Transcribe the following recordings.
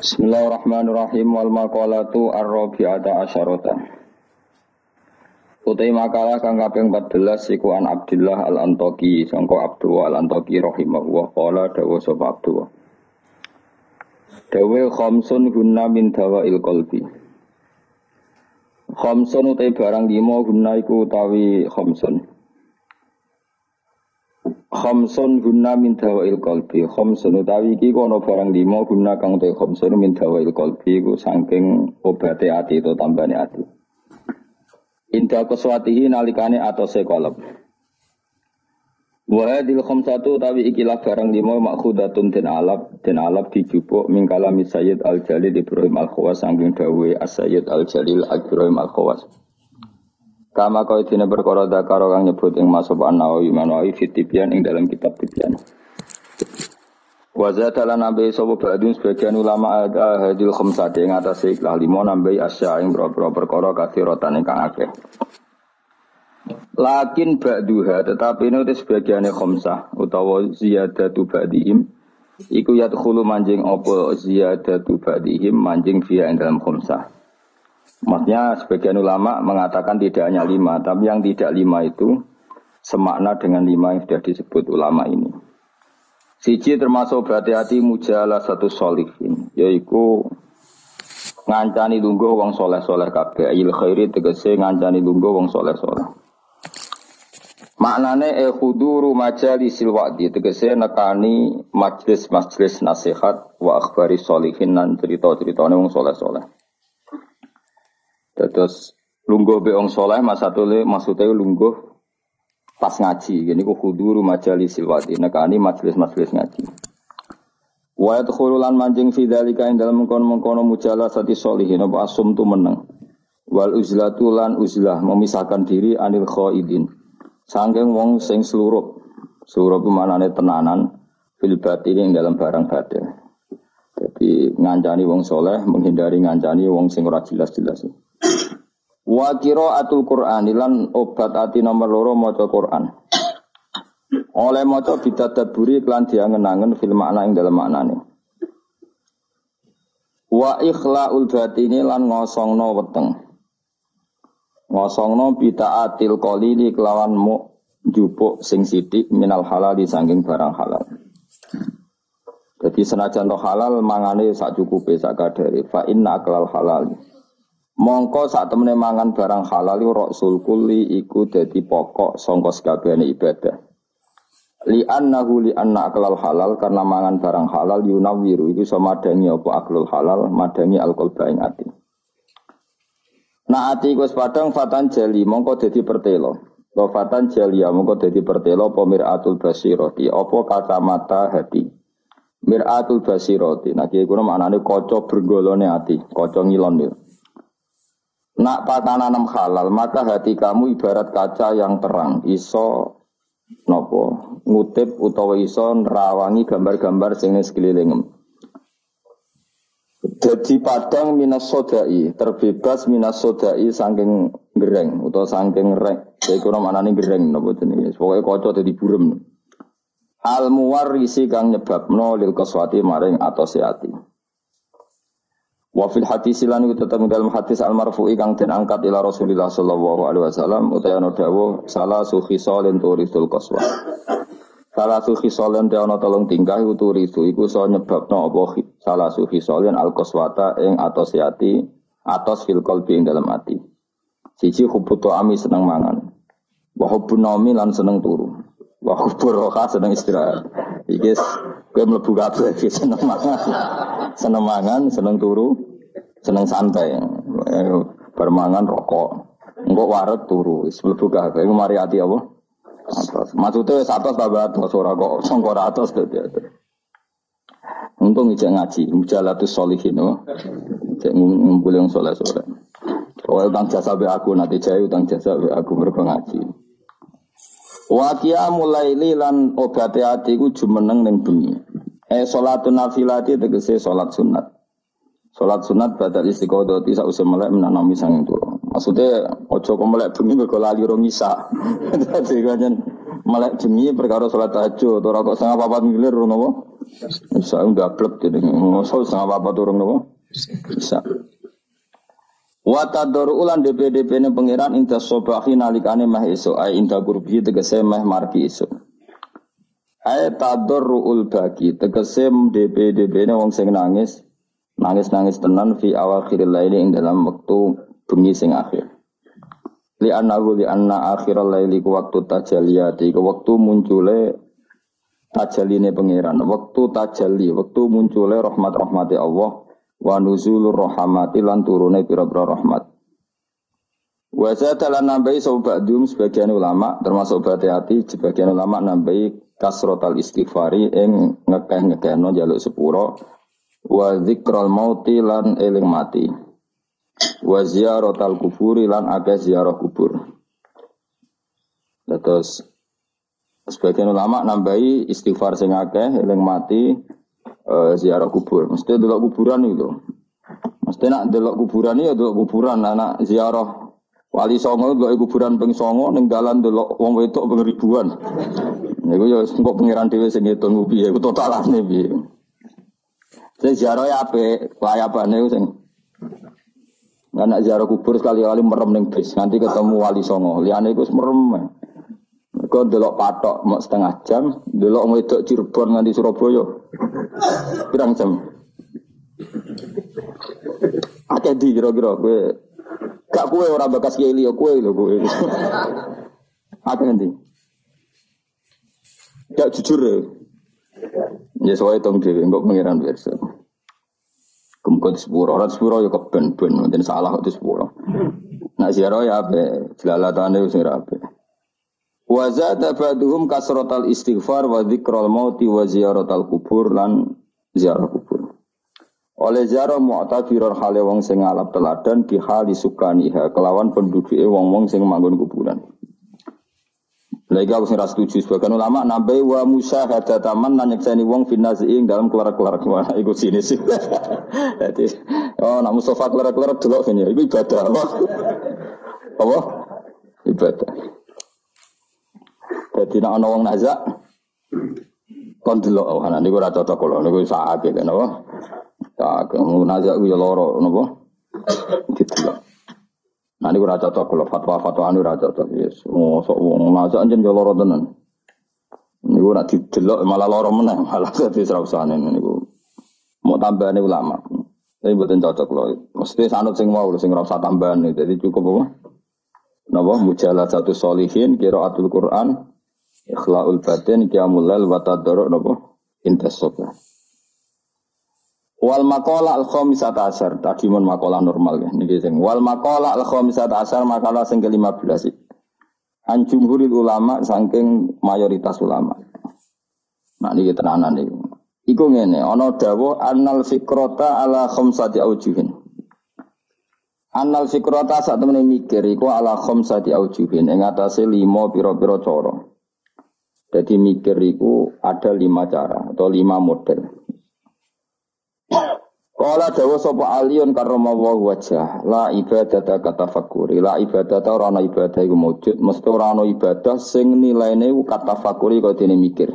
Bismillahirrahmanirrahim wal maqalatu ar-rabi'ata asyarata. Utai makalah kang kaping 14 iku an Abdullah al-Antaqi sangka Abdullah al-Antaqi rahimahullah qala dawa sapa Abdullah. Dawe khamsun gunna min dawail qalbi. Khamsun utai barang 5 gunna iku utawi khamsun. Khamsun guna min dawail qalbi. Khamsun utawi iki ana barang 5 guna kang te khamsun min dawail qalbi iku saking obate ati to tambane ati. Inda kuswatihi nalikane atose qalb. Wa hadil khamsatu utawi ikilah barang 5 makhudatun den alab dijupuk min kalami Sayyid Al-Jalil Ibrahim Al-Khawas saking dawuhe As-Sayyid Al-Jalil Ibrahim Al-Khawas. Kama kau dina perkara dakaro kang nyebut ing masab an-Nawawi Manawi fitibian ing dalam kitab Tibyan. Wa zatalan nabi sapa ba'dun sebagian ulama ada hadil khamsati ing atase ikhlas 5 nambahi asya ing boro-boro perkara kathiratan ingkang akeh. Lakin ba'duha tetapi ini sebagiane khamsah utawa ziyadatu ba'dihim iku yadkhulu manjing apa ziyadatu ba'dihim manjing via ing dalam khamsah. Maksudnya sebagian ulama mengatakan tidak hanya 5, tapi yang tidak 5 itu semakna dengan 5 yang sudah disebut ulama ini. Siji termasuk berhati-hati mujalah satu sholihin, yaitu ngancani lungguh wong soleh-soleh kabeh, il khairi tegese ngancani lungguh wong soleh-soleh. Maknane khuduru majalisil wa'di tegese nekani majlis-majlis nasihat wa akhbari sholihin lan cerita-ceritane wong soleh-soleh. Terus lungguh be wong saleh maksudnya lungguh pas ngaji. Gini ku huduru majalis silwati nekani majelis-majelis ngaji. Wa yadkhululan manjing fi dzalika ing dalem mengkono mujalasati sholihin apa asum tu meneng. Wal uzlatu lan uzlah memisahkan diri anil khaidin. Saking wong sing slurup. Slurup manane tenanan fil batin ing dalam barang batin. Jadi ngancani wong saleh menghindari ngancani wong sing ora jelas-jelas. Wa qiraatul Qur'an lan obat ati nomor 2 maca Qur'an. Oleh maca bidadaburi lan diangen-angen fil makna ing dalem maknane. Wa ikhlaul batini lan ngosongno weteng. Ngosongno bitaatil qalili kelawan njupuk sing sithik minal halal saking barang halal. Jadi senajan to halal mangane sak cukupe sak kadare fa inna aklal halal. Mongko sak temene mangan barang halal rasul kulli iku dadi pokok sangka sakabehane ibadah. Li anna aklal halal karena mangan barang halal yunawiru iku iso madangi apa aklul halal madangi alqalba ing ati. Nah ati wis padang fatan jali mongko dadi pertelo. Lo fatan jalia mongko dadi pertelo pemiratul basirati apa kacamata hati. Miratul basirati nah iki kuwi maknane kaca bergolone ati, kaca ngilon ya. Nak patananam halal maka hati kamu ibarat kaca yang terang iso nopo ngutip utawa iso nerawangi gambar-gambar sing ning sekelilingem. Jadi padang minas sodai terbebas minas sodai saking gereng utawa saking rek. Iku maknane gereng napa jenenge. Pokoke kaca dadi burem. Al muwarrisi kang nyebabno lil qaswati maring atose ati. Wa fil hadis lan iku tetep dalam hadis al marfu'i kang den angkat ila Rasulillah sallallahu alaihi wasallam utawa dawuh salah sukhisalin turisul qaswa. Salah sukhisalin ana tolong tingkah turisu iku iso nyebabno apa salah sukhisalin al qaswata ing atose ati atos fil qalbi ing dalam ati. Siji hubutu ami seneng mangan. Wa hubun naumi lan seneng turu. Wa hubur roha seneng istirahat. Iki kowe mlebu kabeh seneng mangan. Seneng mangan, seneng turu, seneng santai. Bermangan rokok. Engko wareg turu, wis mlebu kabeh. Iku mari ati apa? Atas. Maksude wis atas tambah atas ora kok sangka atas dadi. Untung ijek ngaji, mujalatus sholihin. Cek ngumpul yang saleh-saleh. Kowe utang jasa be aku nanti jae utang jasa be aku mergo ngaji. Wa qiyamul laili lan obate ati ku jumeneng ning bengi. Salatun nafilati tegese salat sunat. Salat sunat badal istiqodoti sause melek menanami sanging turu. Maksudnya aja kok melek bengi mergo lali rong isa. Dadi kanjen melek bengi perkara salat tahajud ora kok setengah 4 milir ngono apa? Bisa gablek jadi ngosol sama apa turun nopo. Bisa. Wa tador ulan DPDP ne pangeran inta sobahi nalikane mah esuk ai inta gurbi tegese meh margi esuk. Ai tadorul bagi tegese DPDP ne wong sing nangis tenan fi awakhiril laili ing dalam wektu bengi sing akhir. Li anna akhiril laili ku waktu tajaliyati ku waktu muncule tajaline pangeran, waktu tajalli, waktu muncule rahmat-rahmati Allah. Wa nuzulur rahmati lan turune pira-pira rahmat. Wa zatalan nambahi sobadum sebagian ulama termasuk hati sebagian ulama nambahi kasrotal istighfari ing ngekeh-ngekehno njaluk sepuro wa dzikral mauti lan eling mati. Wa ziyaratal kuburi lan akeh ziarah kubur. Terus sebagian ulama nambahi istighfar sing akeh eling mati. Ziarah kubur, mesti delok kuburan itu. Mesti nak delok kuburan ya delok kuburan, anak ziarah Wali Songo delok kuburan ping 9 ning dalan delok wong wedok ping ribuan. Niku ya engko pengiran dhewe sing ngitung piye, iku totalane piye. Sing ziarah ya apik, layapane sing anak ziarah kubur sekali-kali merem ning bis nganti ketemu Wali Songo. Liyane iku wis merem. Kau delok patok mau setengah jam, delok wedok Cirebon nganti Surabaya, pirang jam. Akeh di kira-kira kue, gak kue orang bekas kiai liya kue lho kue. Akeh nanti, gak jujur ya. Ya soalnya tong dewi, enggak pengiran biasa. Kemudian sepuro, orang sepuro ya keben-ben, mungkin salah itu sepuro. Nak ziarah ya apa, jelalatan itu sing rapi. Wa zada ba'duhum kasratal istighfar wa dzikral mauti wa ziyaratal kubur lan ziarah kubur. Oleh ziarah mu'tabirar hale wong sing ngalap teladan di hali sukaniha kelawan penduduke wong-wong sing manggon kuburan. Lagi aku sing ra setuju sebagian ulama nambahi wa musyahadataman lan nyekseni wong finazi ing dalam kelar-kelar wah iku sini sih. Dadi nak Mustafa kelar-kelar delok kene iku ibadah apa? Apa? Ibadah. Jadi nak ana wong nazak kon delok ana niku ora cocok kula niku sakake napa. Tak kamu nazak ku ya lara napa. Didelok. Nah niku ora cocok kula fatwa-fatwa anu ora cocok yes. Mosok wong nazak anjen ya lara tenan. Niku nek didelok malah lara meneh malah dadi srausane niku. Mau tambahane ulama. Tapi mboten cocok lho. Mesti sanut sing mau sing ora usah tambahan. Jadi cukup apa? Napa mujaladzatus sholihin qiraatul Quran ikhlaul batin qiyamul lail wa tadarruk napa intasoba. Wal maqala al khamisata asyar tadi mon maqalah normal ya niki sing wal maqala al khamisata asyar maqalah sing ke-15 an jumhuril ulama saking mayoritas ulama. Nah niki tenanan iki. Iku ngene ana dawuh annal fikrata ala khamsati aujuhin. Annal fikrata sak temene mikir iku ala khamsati aujuhin ing atase 5 pira-pira cara. Jadi mikir itu ada 5 cara atau 5 model. Qala dawa sapa aliyun karramallahu wajhah la ibadata katafakuri la ibadata ora ana ibadah iku wujud mesti ora ana ibadah sing nilaine katafakuri kaya dene mikir.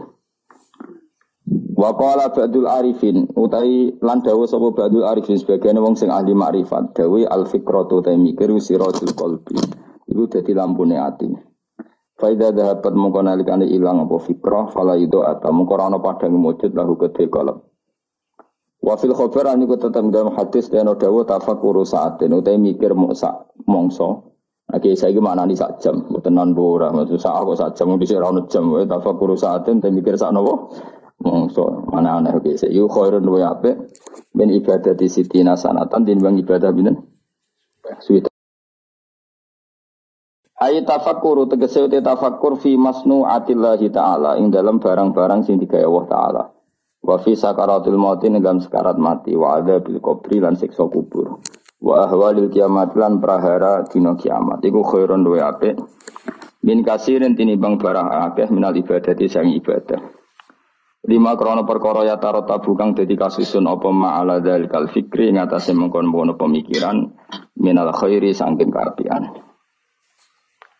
Wa qala ba'dul arifin utawi lan dawa sapa ba'dul arifin sebagian wong sing ahli makrifat dawe al fikratu ta mikir siratul qalbi iku dadi lampune ati. Faida dapat mongko nalikane ilang apa fikrah fala ido ata mongko ora ana padang wujud lahu kedhe kalem. Wa fil khabar aniku tetep dalam hadis dene dawuh tafakkur saaten utahe mikir mongso. Oke saiki maknani sak jam mboten nan ora maksud sak kok sak jam dhisik ora ono jam wae tafakkur saaten te mikir sak napa mongso mana ana oke saiki khairun wa apik ben ibadah di sitina sanatan tinimbang ibadah pinten suwi. Ayat tafakkur tegese te tafakkur fi masnu'atillahi ta'ala ing dalam barang-barang sing digawe Allah taala. Wa fi sakaratul maut ing dalam sekarat mati wa adzabil qabri lan siksa kubur. Wa ahwalil kiamat lan prahara dina kiamat. Iku khairun wa apik. Min kasirin tinimbang barang akeh minal ibadati sang ibadah. 5 krana perkara ya tarot tabukang dadi kasusun apa ma'ala dzalikal fikri ing atase mengkon-mengkon pemikiran minal khairi saking kaapian.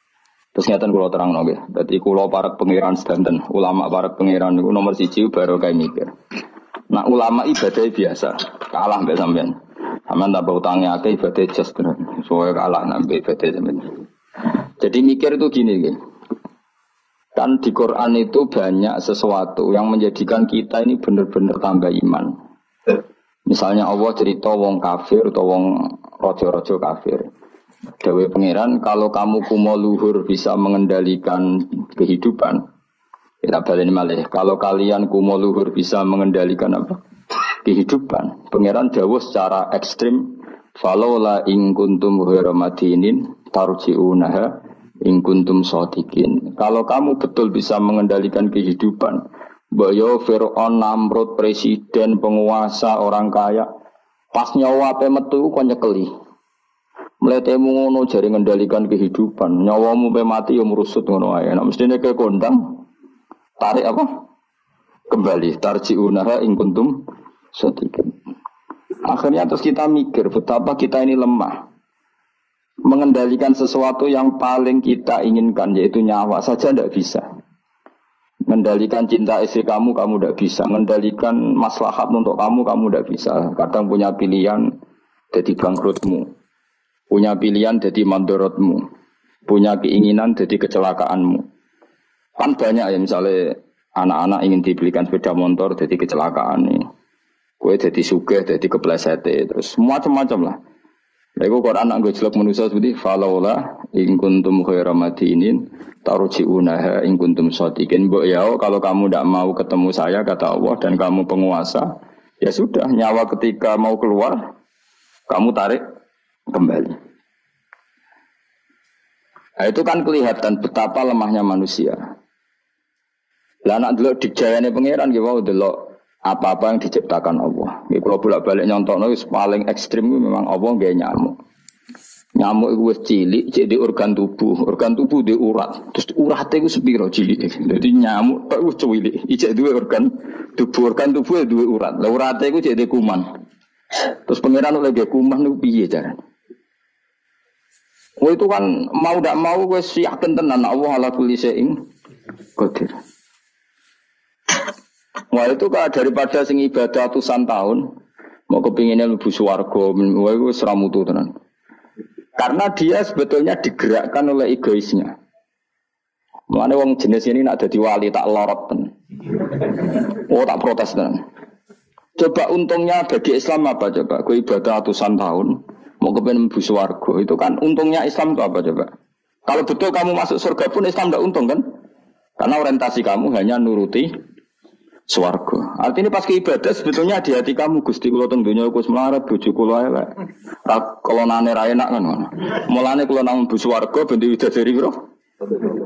Terus ngeten kula terangno nggih. Dadi kula para pangeran sedanten, ulama para pangeran niku nomor 1 baru kae mikir. Nah ulama ibadah biasa, kalah mbek sampean. Sampean tambah utangnya akeh ibadah jas tenan. Soale kalah nambah ibadah sampean. Jadi mikir itu gini nggih. Kan di Quran itu banyak sesuatu yang menjadikan kita ini benar-benar tambah iman. Misalnya Allah cerita wong kafir atau wong rojo-rojo kafir. Dawe pangeran, kalau kamu kumo luhur bisa mengendalikan kehidupan, kita balik malih. Kalau kalian kumo luhur bisa mengendalikan apa? Kehidupan. Pangeran dawuh secara ekstrim, falola ing kuntum ghairu madinin tarji'unaha ing kuntum shadiqin. Kalau kamu betul bisa mengendalikan kehidupan, Boyo Fir'aun, Namrud, presiden, penguasa, orang kaya, pas nyawa ape metu kok nyekeli. Mletemu ngono jare ngendalikan kehidupan. Nyawamu pe mati yo merusut ngono ae. Nek mestine ke kondang tarik apa? Kembali tarji'unaha ing kuntum shadiqin. Akhirnya terus kita mikir betapa kita ini lemah. Mengendalikan sesuatu yang paling kita inginkan yaitu nyawa saja tidak bisa. Mengendalikan cinta istri kamu tidak bisa. Mengendalikan maslahat untuk kamu tidak bisa. Kadang punya pilihan jadi bangkrutmu. Punya pilihan jadi mandorotmu. Punya keinginan jadi kecelakaanmu. Kan banyak ya misalnya anak-anak ingin dibelikan sepeda motor jadi kecelakaan nih. Kue jadi sugih, jadi kepleset. Terus macam-macam lah. Lagu Quran anggo jelek manusia seperti falaula in kuntum khairu madinin tarji'unaha in kuntum shadiqin. Mbok ya kalau kamu tidak mau ketemu saya kata Allah dan kamu penguasa, ya sudah nyawa ketika mau keluar kamu tarik kembali. Nah, itu kan kelihatan betapa lemahnya manusia. Lah nak delok dijayane pangeran nggih wau delok apa-apa yang diciptakan Allah. Nggih kula bolak-balik nyontokno wis paling ekstrim memang Allah nggih nyamuk. Nyamuk iku wis cilik jadi organ tubuh. Organ tubuh di urat. Terus urate iku sepiro cilik. Dadi nyamuk tok wis cilik. Ijek duwe organ tubuh. Organ tubuh duwe urat. Lah urate iku jadi kuman. Terus pangeran oleh kuman niku piye carane? Itu kan mau tidak mau wis yakin tenan Allah ala kulli syai'in qadir. Wah itu kan daripada sing ibadah ratusan tahun mau kepinginnya lebih swarga, wah itu seramutu tenan. Karena dia sebetulnya digerakkan oleh egoisnya. Mulane wong jenis ini nak dadi wali tak lorot tenan. Oh tak protes tenan. Coba untungnya bagi Islam apa coba? Kau ibadah ratusan tahun mau kepengen mlebu swarga, itu kan untungnya Islam itu apa coba? Kalau betul kamu masuk surga pun Islam tidak untung kan? Karena orientasi kamu hanya nuruti swarga. Artinya pas ke ibadah sebetulnya di hati kamu Gusti kula teng donya wis melarat bojo kula elek. Kelonane ra enak kan ngono. Mulane kula nang mlebu swarga ben widadari piro? 70.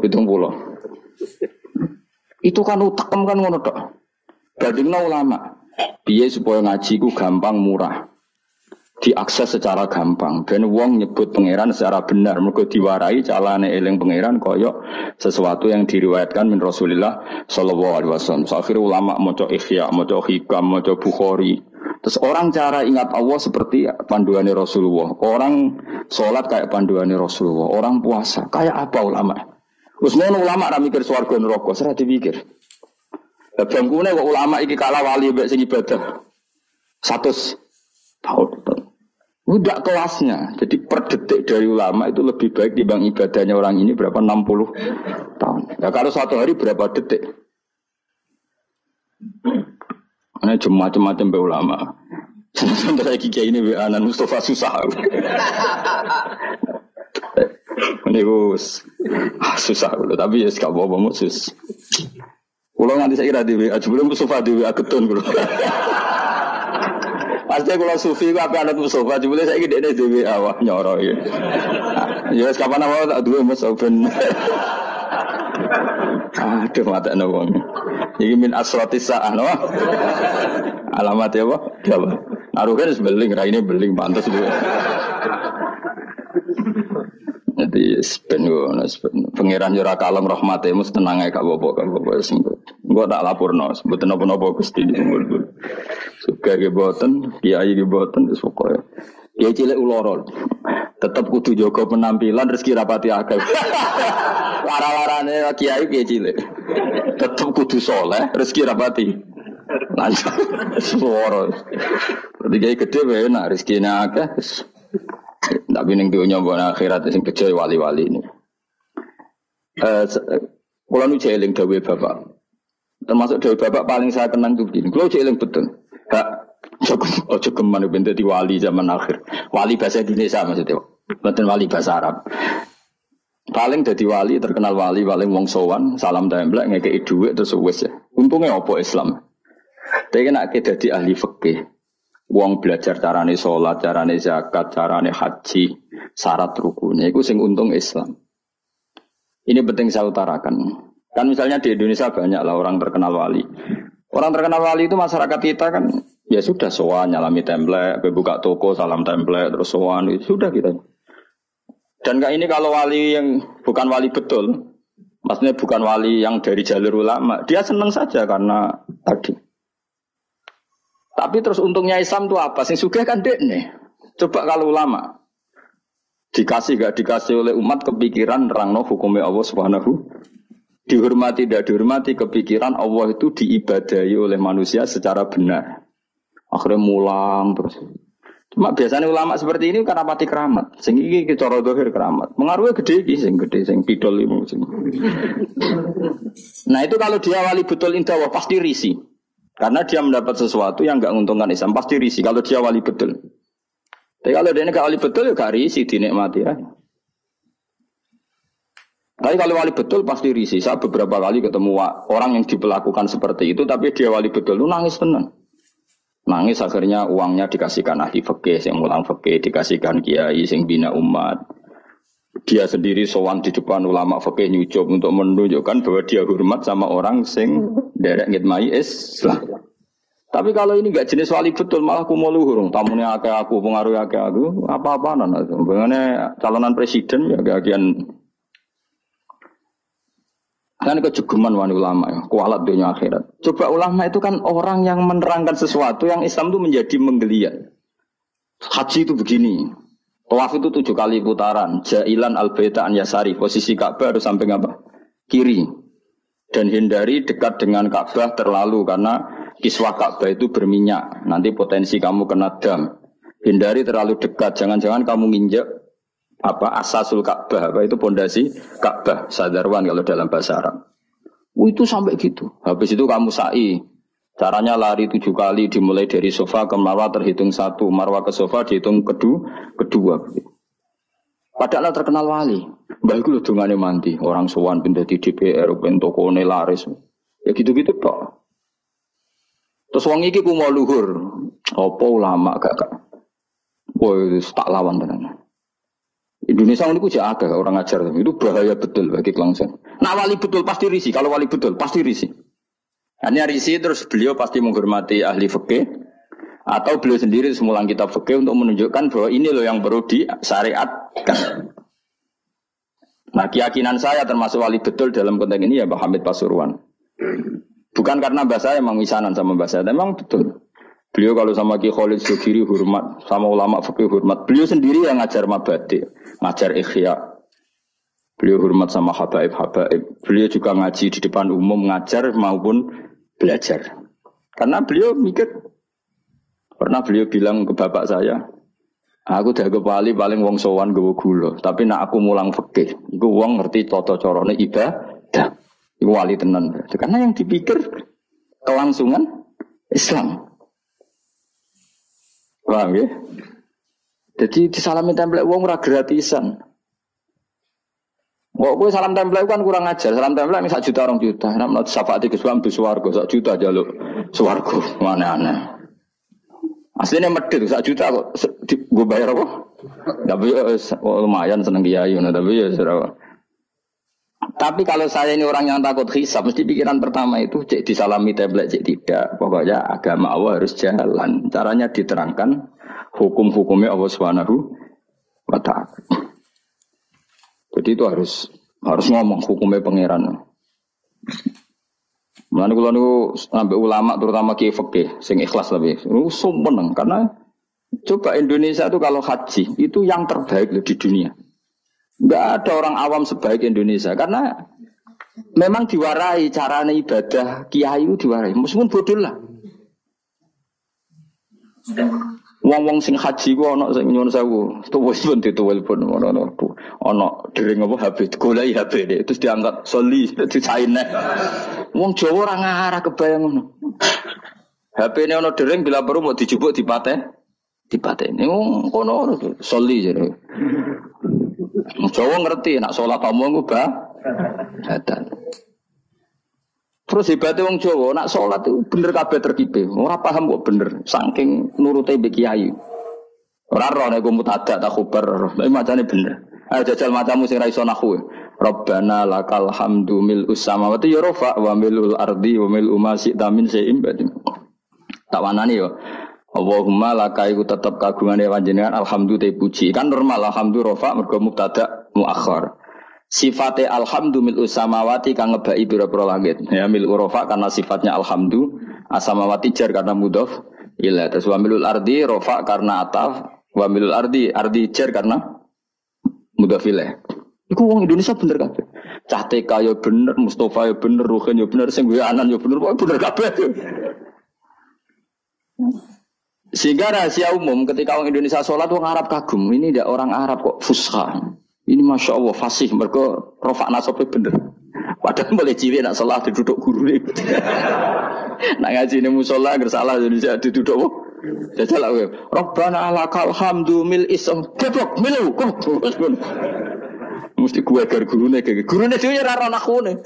Itu kan utekem kan ngono tok. Bandingno ulama. Piye supaya ngaji ku gampang murah. Diakses secara gampang dan wong nyebut pangeran secara benar mergo diwarai calane eling pangeran koyok sesuatu yang diriwayatkan min Rasulillah sallallahu alaihi wasallam. Akhirnya ulama maca Ihya, maca Hikam, maca Bukhari. Terus orang cara ingat Allah seperti panduannya Rasulullah. Orang sholat kayak panduannya Rasulullah. Orang puasa kayak apa ulama? Wis ngono ulama ra mikir swarga neraka, ora dipikir. Lah bangkune kok ulama iki kalah wali mbek sing ibadah 100 tahun. Udah kelasnya. Jadi per detik dari ulama itu lebih baik dibanding ibadahnya orang ini berapa 60 tahun. Ya kalau satu hari berapa detik? Ini cuma macam-macam be ulama. Sampai saya kiai ini anak Mustafa susah. Ini susah dulu, tapi ya sekarang bawa musus. Kalau nanti saya kira di WA, sebelum Mustafa di WA ketun dulu. Pasti kalau sufi itu apa anak Mustafa, cuma saya kira di WA wah nyoro ya. Ya kapan awal tak dua Mustafa. Aduh mata nawang. Ini min asratis sa'ah no. Alamat ya apa? Apa? Naruhkan sebeling, ini beling pantas dulu. Jadi pengiran jura kalem rahmatnya mus tenang aja kak bobo sembut. Gua tak lapor nos, sebut nopo gusti di sembut. Suka geboten, kiai geboten, pokoknya. Kiai cilik ulorol, tetap kudu jaga penampilan rezeki rapati akeh. Lara-larane kiai piye cilik. Tetep kudu saleh, rezeki rapati. Lancar. Suara. Dadi kiai gede wae nak rezekine akeh. Tapi ning dunya mbok akhirat sing bejo wali-wali ini. Kula nu jeling dawuh Bapak. Termasuk dawuh Bapak paling saya kenang tuh begini. Kula jeling betul. Hak ojo geman ben dadi wali zaman akhir. Wali bahasa Indonesia maksudnya. Bukan wali bahasa Arab. Paling dadi wali, terkenal wali paling wong sowan, salam templek ngekeki dhuwit terus wis ya. Untungnya apa Islam? Tapi nek dadi ahli fikih, wong belajar carane salat, carane zakat, carane haji, syarat rukunnya iku sing untung Islam. Ini penting saya utarakan. Kan misalnya di Indonesia banyak lah orang terkenal wali. Orang terkenal wali itu masyarakat kita kan ya sudah sowan nyalami templek, buka toko salam templek terus sowan itu sudah kita. Dan kayak ini kalau wali yang bukan wali betul, maksudnya bukan wali yang dari jalur ulama, dia senang saja karena tadi. Tapi terus untungnya Islam itu apa? Sing sugih kan dek nih. Coba kalau ulama dikasih gak dikasih oleh umat kepikiran nerangno hukumnya Allah Subhanahu, dihormati tidak dihormati kepikiran Allah itu diibadahi oleh manusia secara benar. Akhirnya mulang terus. Cuma biasanya ulama seperti ini karena pati keramat. Sing iki cara zahir keramat. Pengaruhnya gede iki sing gede sing pidol iku sing. Nah, itu kalau dia wali betul indah pasti risih. Karena dia mendapat sesuatu yang enggak menguntungkan Islam, pasti risih kalau dia wali betul. Tapi kalau dia enggak wali betul ya gak risih dinikmati ya. Tapi kalau wali betul pasti risih. Saya beberapa kali ketemu orang yang diperlakukan seperti itu tapi dia wali betul lu nangis tenang. Nangis akhirnya uangnya dikasihkan ahli fikih, yang mulang fikih, dikasihkan kiai, yang bina umat. Dia sendiri sowan di depan ulama fikih nyucup untuk menunjukkan bahwa dia hormat sama orang sing derek ngitmai Islam. Tapi kalau ini gak jenis wali betul, malah aku mau luhur. Tamunya akeh aku, pengaruhnya akeh aku, apa-apaan. Bagaimana calonan presiden ya kagian. Kan kejegeman wani ulama ya, kualat dunia akhirat. Coba ulama itu kan orang yang menerangkan sesuatu yang Islam itu menjadi menggeliat. Haji itu begini, tawaf itu 7 kali putaran, jailan al-baita an yasari, posisi Ka'bah harus sampai apa? Kiri. Dan hindari dekat dengan Ka'bah terlalu karena kiswah Ka'bah itu berminyak, nanti potensi kamu kena dam. Hindari terlalu dekat, jangan-jangan kamu nginjek asasul Ka'bah, itu pondasi Ka'bah, sadarwan kalau dalam bahasa Arab. Itu sampai gitu. Habis itu kamu sa'i. Caranya lari 7 kali, dimulai dari sofa ke marwah terhitung 1, marwah ke sofa dihitung kedua. Padahal terkenal wali. Mbah iku lho dongane mandi, orang sowan pindah di DPR, ben tokone laris. Ya gitu-gitu tok. Terus wong iki ku mau luhur. Apa ulama gak? Woi, tak lawan tenan. Indonesia ini kuja agak orang ajar itu bahaya betul bagi kelangsungan. Nah wali betul pasti risih. Kalau wali betul pasti risih. Hanya risih terus beliau pasti menghormati ahli fikih atau beliau sendiri semulang kitab fikih untuk menunjukkan bahwa ini loh yang perlu disyariatkan. Nah keyakinan saya termasuk wali betul dalam konteks ini ya Pak Hamid Pasuruan. Bukan karena bahasa saya memang misanan sama bahasa saya, memang betul. Beliau kalau sama Ki Khalid Sugiri hormat, sama ulama fikih hormat. Beliau sendiri yang ngajar mabadi, ngajar ikhya. Beliau hormat sama habaib-habaib. Beliau juga ngaji di depan umum, ngajar maupun belajar. Karena beliau mikir, pernah beliau bilang ke bapak saya, aku dah kepali paling wong sowan gowo gula, tapi nak aku mulang fikih, iku wong ngerti tata carane ibadah. Iku wali tenan. Karena yang dipikir kelangsungan Islam. Paham ya? Jadi disalami template wong ora gratisan. Kok kowe salam template kan kurang ajar. Salam template 1 juta 2 juta. Nek menurut syafaat Gus Wam swarga 1 juta jaluk swarga. Mana-ana. Aslinya medhit 1 juta kok gue bayar apa? Tapi lumayan seneng kiai ngono tapi ya ora. Tapi kalau saya ini orang yang takut hisab, mesti pikiran pertama itu cek disalami template, cek tidak. Pokoknya agama Allah harus jalan. Caranya diterangkan hukum-hukumnya Allah Subhanahu wa ta'ala. Jadi itu harus ngomong hukumnya pangeran. Mulane kula niku sampai ulama terutama kiai fikih sing ikhlas lebih. Sumpah karena coba Indonesia itu kalau haji itu yang terbaik loh di dunia. Enggak ada orang awam sebaik Indonesia karena memang diwarai carane ibadah kiai itu diwarai. Meskipun bodoh lah. Wong-wong sing haji ku ana sing nyuwun sewu, tuwes pun dituwel pun ana dering apa HP goleki HP deh terus diangkat soli dicaine. Wong Jawa ora ngarah kebayang ngono. HP-ne ana dering bila perlu mau dijupuk dipateni. Wong kono soli jare. Jawa ngerti nak salat omong ku badan. Terus hebatnya wong Jawa, nak sholat itu bener kabeh terkipe. Ora paham kok bener, saking nurute mbek kiai. Ora roh nek mutadak tak khubar, tapi macane bener. Ayo jajal macamu sing ra iso nahwu. Rabbana lakal hamdu mil'us samawati ya rafa wa mil'ul ardi wa mil'u ma syi'ta min syai'in ba'd. Tak wanani yo. Allahumma laka iku tetep kagungane panjenengan alhamdulillah puji. Kan normal alhamdulillah rafa mergo mubtada muakhar. Sifatnya alhamdu mil'u samawati kang ngebai pira-pira langit. Ya mil'u rofa karena sifatnya alhamdu, asamawati jar karena mudhof ila. Terus wa mil'ul ardi rofa karena ataf, wa mil'ul ardi jar karena mudhof ila. Iku wong Indonesia bener kabeh. Cah TK ya bener, Mustafa ya bener, Ruhin ya bener, sing Anan ya bener, pokoke bener kabeh. Sehingga rahasia umum ketika orang Indonesia sholat wong Arab kagum. Ini tidak orang Arab kok fusha. Ini Masya Allah fasih, mereka rofak nasabnya bener. Padahal boleh cilik nak salah diduduk guru ni. Nak ngaji ni musola gersalah Indonesia diduduk. Jajal lah. Rabbana lakal hamdu mil isam. Keblok milu. Mesti gue agar guru ni. Guru ni dia rara nakhu ni.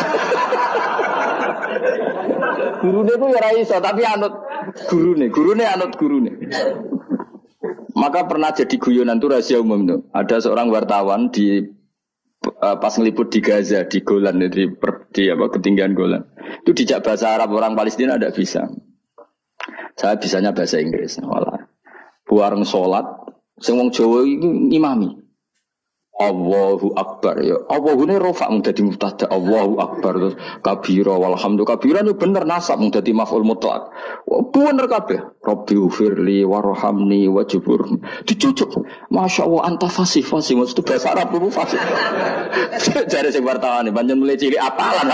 Guru ni tu ya raiso tapi anut guru ni. Guru ni anut guru ni. Maka pernah jadi guyonan itu rahasia umum tuh. Ada seorang wartawan di pas ngeliput di Gaza di Golan di ketinggian Golan. Itu dijak bahasa Arab orang Palestina tidak bisa. Saya bisanya bahasa Inggris. Walah. Buareng sholat, sing wong Jawa itu imami. Allahu Akbar ya. Allahu ini rofa mung dadi mubtada. Allahu Akbar terus kabira walhamdulillah. Kabira itu bener nasab mung dadi maf'ul mutlaq. Bener kabeh. Rabbi ufirli warhamni wajbur. Dicucuk. Masya Allah anta fasih maksud bahasa Arab itu fasih. Jare sing wartawan pancen mulai cilik apalan.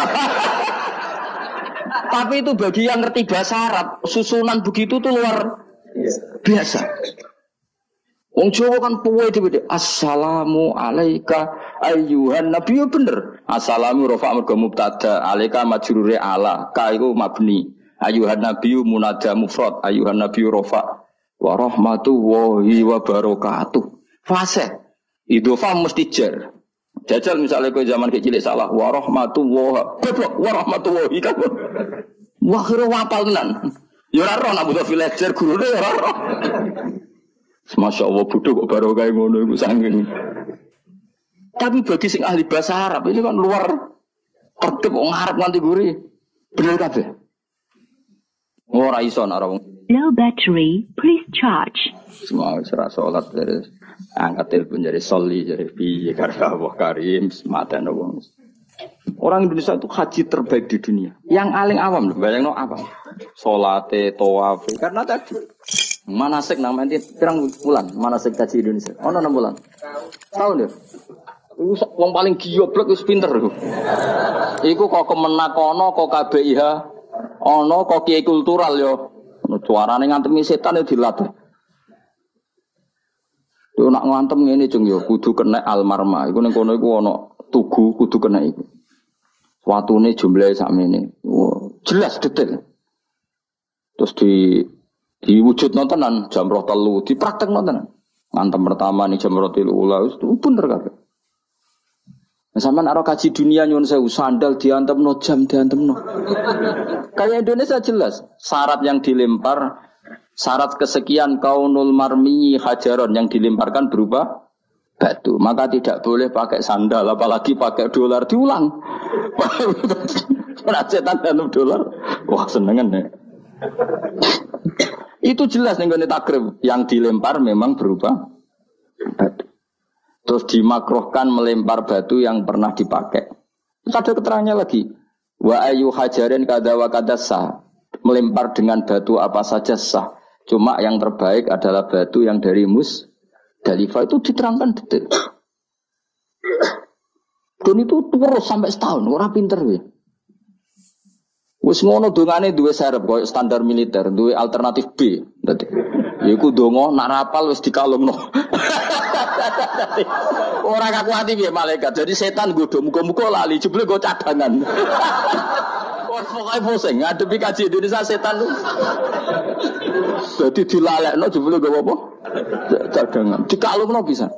Tapi itu bagi yang ngerti bahasa Arab, susunan begitu tuh luar biasa. Wong Jawa kan puwe dhewe. Assalamu alayka ayyuhan nabi bener. Assalamu rafa mergo mubtada, alayka majrure ala, ka iku mabni. Ayyuhan nabi munada mufrad, ayyuhan nabi rafa wa rahmatullahi wa barakatuh. Fase. Idhofa mesti jar. Jajal misalnya kowe zaman kecil salah wa rahmatullahi wa rahmatullahi kan. Wah kira wapal tenan. Ya ora roh nak butuh villager gurune ya ora roh. Masya Allah bodoh kok baru kayak ngono iku saking. Tapi bagi sing ahli bahasa Arab ini kan luar tertib wong Arab nganti guri. Bener kabeh. Ora iso nek ora wong. Low battery, please charge. Semua serah salat dari angkat telepon jadi soli jadi piye karo Allah Karim sematan wong. Orang Indonesia itu haji terbaik di dunia. Yang paling awam loh, bayangno apa? Salate, tawafe karena tadi manasik nang nanti pirang bulan manasik kaji Indonesia. Ono 6 bulan. Tahun ya. Iku wong paling goblok wis pinter iku. Iku kok kemenak ono kok KBIH ono kok kiai kultural yo. Suarane ngantemi setan yo dilatih. Yo nak ngantem ngene jeng yo kudu kena almarma. Iku ning kono iku ono tugu kudu kena iku. Watune jumlahe sakmene. Jelas detail. Terus diwujud nontonan jam 3 dipraktek nontonan. Ngantem pertama nih jam 3 ula itu bener kabeh. Nah, sampean aro kaji dunia nyuwun sewu sandal diantemno jam diantemno. Kayak Indonesia jelas syarat yang dilempar syarat kesekian kaunul marmi hajaron yang dilemparkan berupa batu. Maka tidak boleh pakai sandal apalagi pakai dolar diulang. Setan dalam dolar. Wah senengan ya. Itu jelas nih takrib yang dilempar memang berupa batu. Terus dimakruhkan melempar batu yang pernah dipakai. Terus ada keterangannya lagi. Wa ayu hajarin kada wa kada sah. Melempar dengan batu apa saja sah. Cuma yang terbaik adalah batu yang dari Musdalifah itu diterangkan detail. Dan itu terus sampai setahun, orang pinter ya. Wis ngono dongane duwe serep koyo standar militer, duwe alternatif B. Dadi iku donga nak rapal wis dikalungno. Ora kakuati piye malaikat. Jadi setan godho muga-muga lali jebule go cadangan. Wes pokoke pusing ngadepi kaji Indonesia setan. Dadi dilalekno jebule go apa? Cadangan. Dikalungno bisa.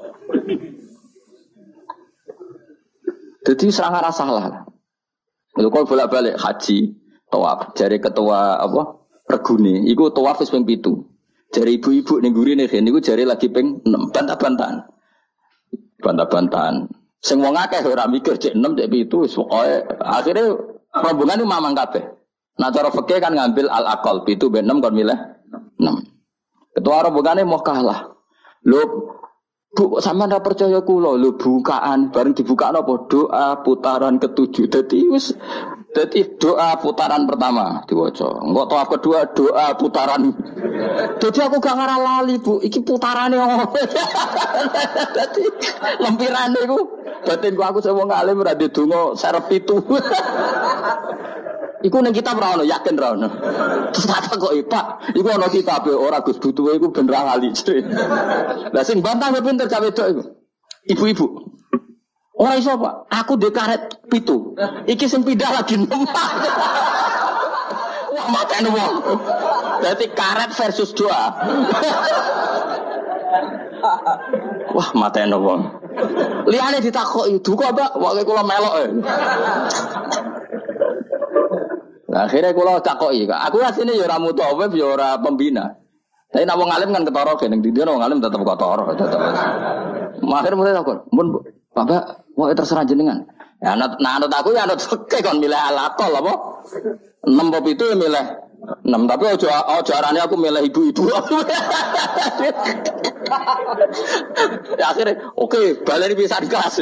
Jadi sangat salah. Lha kok bolak-balik haji, tawaf, jare ketua apa? Regune, iku tawaf wis ping 7. Jare ibu-ibu ning gurine niku jare lagi ping 6, bantah-bantahan. Bantah-bantahan. Sing wong akeh ora mikir cek 6 cek 7 wis pokoke akhire rombongan mamang kabeh. Nah cara fikih kan ngambil al-aqal 7 ben 6 kon milih 6. Ketua rombongane mau kalah. Lho Bu, sampean ra percaya kula lho bukaan bareng dibukakno apa doa putaran ke-7. Dadi doa putaran pertama diwaca. Engko tawaf kedua doa putaran. Dadi aku gak ngarah lali, Bu. Iki putarane opo? Dadi lempirane iku batinku aku sing wong alim ora ndedonga serep 7. Iku ning kitab ra ono, yakin ra ono. Terus tak kok Pak, iku ono kitab ora Gus butuhe iku ben ra lali. Lah sing bantah kok pinter gawe wedok iku. Ibu-ibu. Ora iso, Pak. Aku ndek karet 7. Iki sing pindah lagi 6. Wah, matene wong. Berarti karet versus doa. Wah, matene wong. Liyane ditakoki, "Duka, Pak, wae kula melok." Nah, akhirnya kalau takoki, aku asline ya ora mutawif ya ora pembina. Tapi nek wong alim kan ketara kene ndi wong alim tetep ketara, tetep. Akhire mulai takon, "Mun Bapak, wae terserah jenengan." Ya anut aku ya anut fikih kon milih al-aqal apa? 6 apa itu ya milih 6, tapi aja arane aku milih ibu-ibu. Ya akhirnya oke, baleni pisan kelas.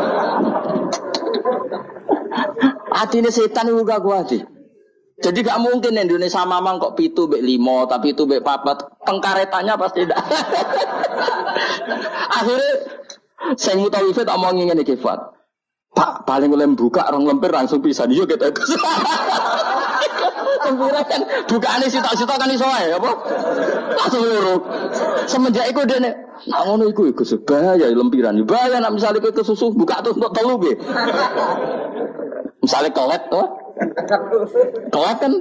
Atine setan iku gak kuat. Jadi gak mungkin Indonesia mamang kok 7 mbek 5, tapi 7 mbek 4. Pengkaretannya pasti tidak. Akhirnya sing mutawif tak omong ngene iki, Fat. Pak, paling oleh buka rong lempir langsung pisan yo kita. Lempire kan bukaane sitok-sitok kan iso ae apa? Langsung loro. Semenjak iku dene nak ngono iku bahaya lempiran. Bahaya nek misale kowe kesusu buka tuh untuk telu nggih. Misale kelet to. Kelet kan.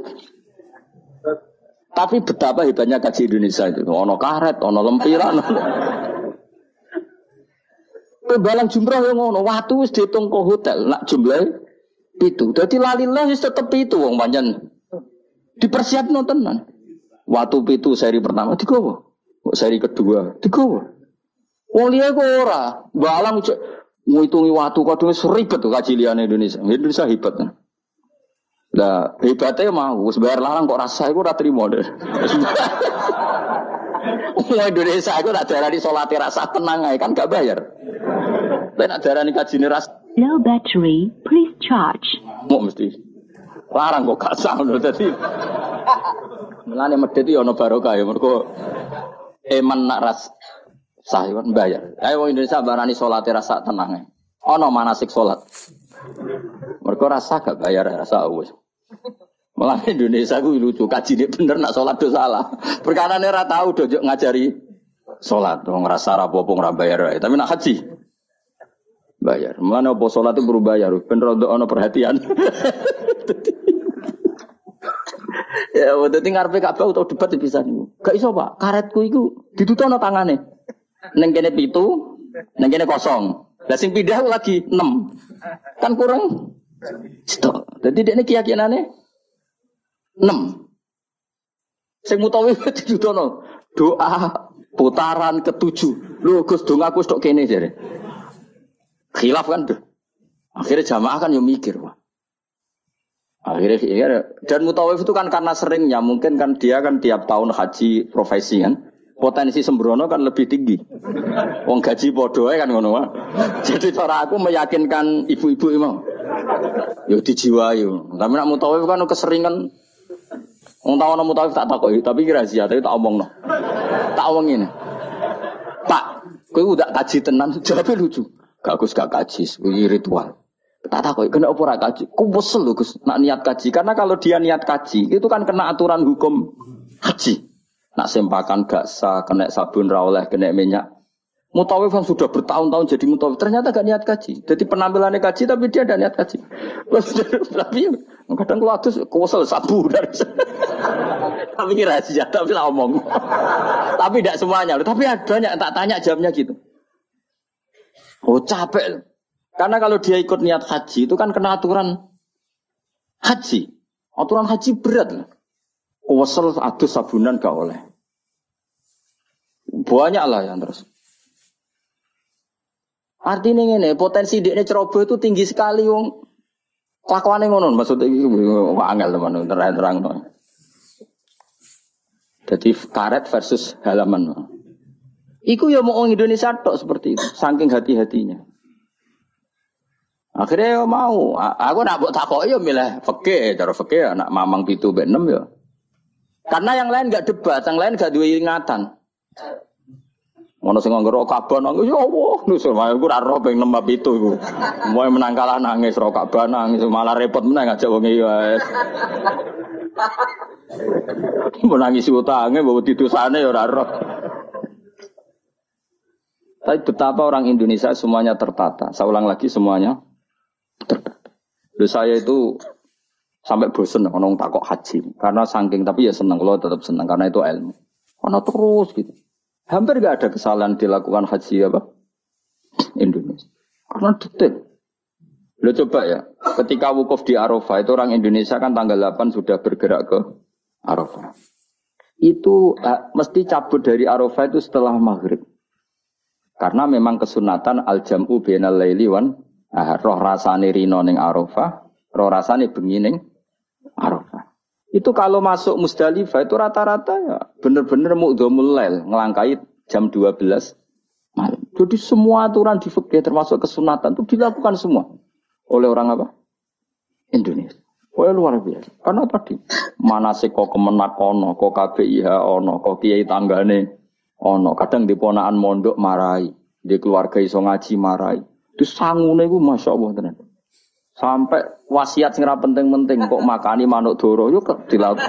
Tapi betapa hebatnya kaji Indonesia itu. Ono karet, ono lempiran. Balang jumrah yang ngono, watu wis diitung ke hotel, nak jumlah itu. Jadi lalilah wis tetep itu wong pancen. Dipersiapno tenan. Watu pitu seri pertama digowo. Seri kedua digowo. Wong liya kok ora. Balang ngitungi watu kadung wis ribet tuh kaji liyane Indonesia. Indonesia hebat. Lah hebatnya mau wis bayar larang kok rasa iku ora trimo deh. Wong Indonesia iku tak darani salat rasa tenang ae kan gak bayar. Tapi nak darani kajine ras. Low battery, please charge. Mau mesti larang kok gak sah lho dadi. Mulane medhit yo ana barokah ya mergo eman nak ras sah kan bayar. Ayo wong Indonesia barani salate rasa tenang ae. Ana manasik salat. Mergo rasa gak bayar rasa wis. Malah Indonesia ku lucu kajine bener nak salat do salah. Perkarane ora tau do ngajari salat wong rasa rapopo ora bayar. Tapi nak haji bayar. Mulane opo salat itu perlu bayar. Ben rondo ana perhatian. Ya udah tinggal ngarepe Ka'bah utawa debat bisa niku. Gak iso, Pak. Karetku iku ditutupno tangane. Ning kene 7, ning kene 0. Lah sing pindah lagi 6. Kan kurang stok. Dadi dekne keyakinane 6. Sing mutawif ditutupno doa putaran ke-7. Lho Gus dongaku stok kene jare. Khilaf kan tuh. Akhirnya jamaah kan yang mikir, Pak. Akhirnya ya, dan mutawif itu kan karena seringnya mungkin kan dia kan tiap tahun haji profesi kan. Potensi sembrono kan lebih tinggi. Wong gaji podo kan ngono, Pak. Jadi cara aku meyakinkan ibu-ibu imam. Yo dijiwai. Tapi nak mutawif kan keseringan. Wong tahu mutawif tak takoki, tapi rahasia tapi tak omongno. Tak omongin. Pak, kowe udah kaji tenan, jawabnya lucu. Gus gak kaji, kuwi ritual. Tak takoki kena apa ora kaji? Ku wesel lho Gus nak niat kaji. Karena kalau dia niat kaji itu kan kena aturan hukum haji. Nak sempakan gak sah, kena sabun ra oleh, kena minyak. Mutawif yang sudah bertahun-tahun jadi mutawif ternyata gak niat kaji. Jadi penampilannya kaji tapi dia ada niat kaji. Tapi kadang kalau adus kuwesel sabu dari tapi ini rahasia, tapi lah omong. Tapi tidak semuanya, tapi ada banyak tak tanya jamnya gitu. Oh capek. Karena kalau dia ikut niat haji itu kan kena aturan haji. Aturan haji berat. Kuwesel adus sabunan gak oleh. Banyak lah yang terus. Artinya ini potensi dia ceroboh itu tinggi sekali wong. Kelakuane ngono maksudnya iki angel teman terang-terang. Jadi karet versus halaman. Iku ya mau orang Indonesia tok seperti itu, saking hati-hatinya. Akhirnya ya mau, aku nak buat takok ya milih fikih, cara fikih anak mamang 7 mbek 6 ya. Karena yang lain enggak debat, yang lain enggak duwe ingatan. Ono sing nganggo Ka'bah nangis ya Allah, nusul aku ora roh ping 6 mbek 7 iku. Moe menang kalah nangis ro Ka'bah nangis malah repot meneh ngajak wong iki wae. Menangis utange mbok didosane ya ora roh. Tapi betapa orang Indonesia semuanya tertata. Saya ulang lagi semuanya tertata. Lalu saya itu sampai bosen ngomong takok haji. Karena saking, tapi ya senang. Kalau tetap senang karena itu ilmu. Karena terus gitu. Hampir gak ada kesalahan dilakukan haji apa? Indonesia. Karena detail. Lo coba ya. Ketika wukuf di Arafah itu orang Indonesia kan tanggal 8 sudah bergerak ke Arafah. Itu mesti cabut dari Arafah itu setelah maghrib. Karena memang kesunatan al-jam'u bainal laili wan roh rasane rino ning Arafah, roh rasane bengi ning Arafah. Itu kalau masuk Musdalifah itu rata-rata ya bener-bener mu'dhamul lail, ngelangkai jam 12 malam. Jadi semua aturan di fikih termasuk kesunatan itu dilakukan semua oleh orang apa? Indonesia. Wah luar biasa. Karena tadi manasik kok kemenak ono, kok KBIH ono, kok kiai tanggane ono, kadang di ponaan mondok marai, di keluarga iso ngaji marai. Itu sangune iku masyaallah tenan. Sampai wasiat sing ra penting-penting kok makani manuk doro yo dilaut.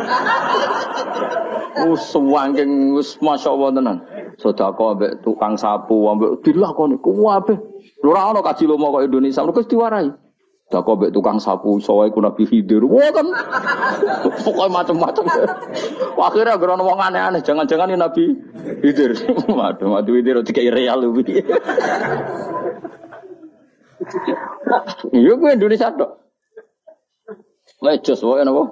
Suwangking wis masyaallah tenan. Sedekah ambek tukang sapu ambek dilakoni kuwabe. Lho ora ono kaji lomo kok Indonesia mergo diwarai. Sedekah ambek tukang sapu iso wae ku Nabi Khidir. Wah kan pokoke macam-macam. Akhirnya gerono wong aneh-aneh, jangan-jangan ini Nabi Khidir. Waduh, Nabi Khidir dikai real lho. Iya gue Indonesia tok. Lecos wae napa?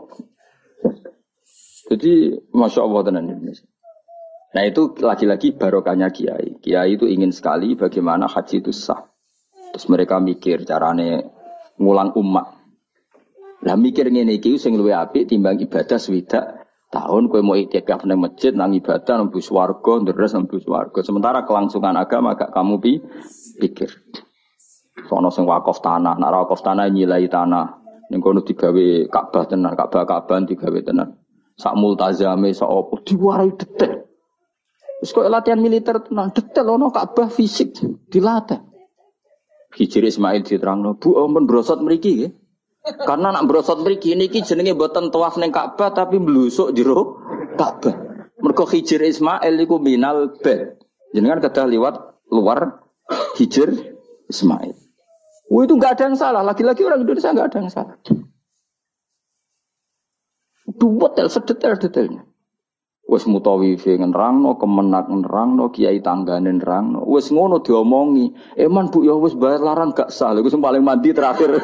Jadi Masya Allah tenan Indonesia. Nah itu lagi-lagi barokahnya kiai. Kiai itu ingin sekali bagaimana haji itu sah. Terus mereka mikir carane ngulang umat. Lah mikir ngene iki sing luwih apik timbang ibadah swidak tahun kowe mau iktikaf nang masjid nang ibadah nang swarga ndres nang swarga. Sementara kelangsungan agama gak kamu pikir. Sono sing wakaf tanah, nek wakaf tanah nyilai tanah. Ning kono digawe Ka'bah tenan, Ka'bah digawe tenan. Sak multazame sak opo diwarai detail. Wis kok latihan militer tenan, detail ono Ka'bah fisik dilatih. Hijri Ismail diterangno, Bu ampun brosot mriki nggih. Karena nak brosot mriki niki jenenge mboten tawaf ning Ka'bah tapi mblusuk jero Ka'bah. Mergo Hijri Ismail iku minal bait. Jenengan kedah liwat luar Hijri Ismail. Oh itu nggak ada yang salah. Lagi-lagi orang Indonesia nggak ada yang salah. Detail sedetail-detailnya. Wes mutawifi nerangno, kemenak nerangno, kiai tanggane nerangno. Wes ngono diomongi. Eman Bu ya wes bayar larang gak sah. Lha sing paling mandi terakhir.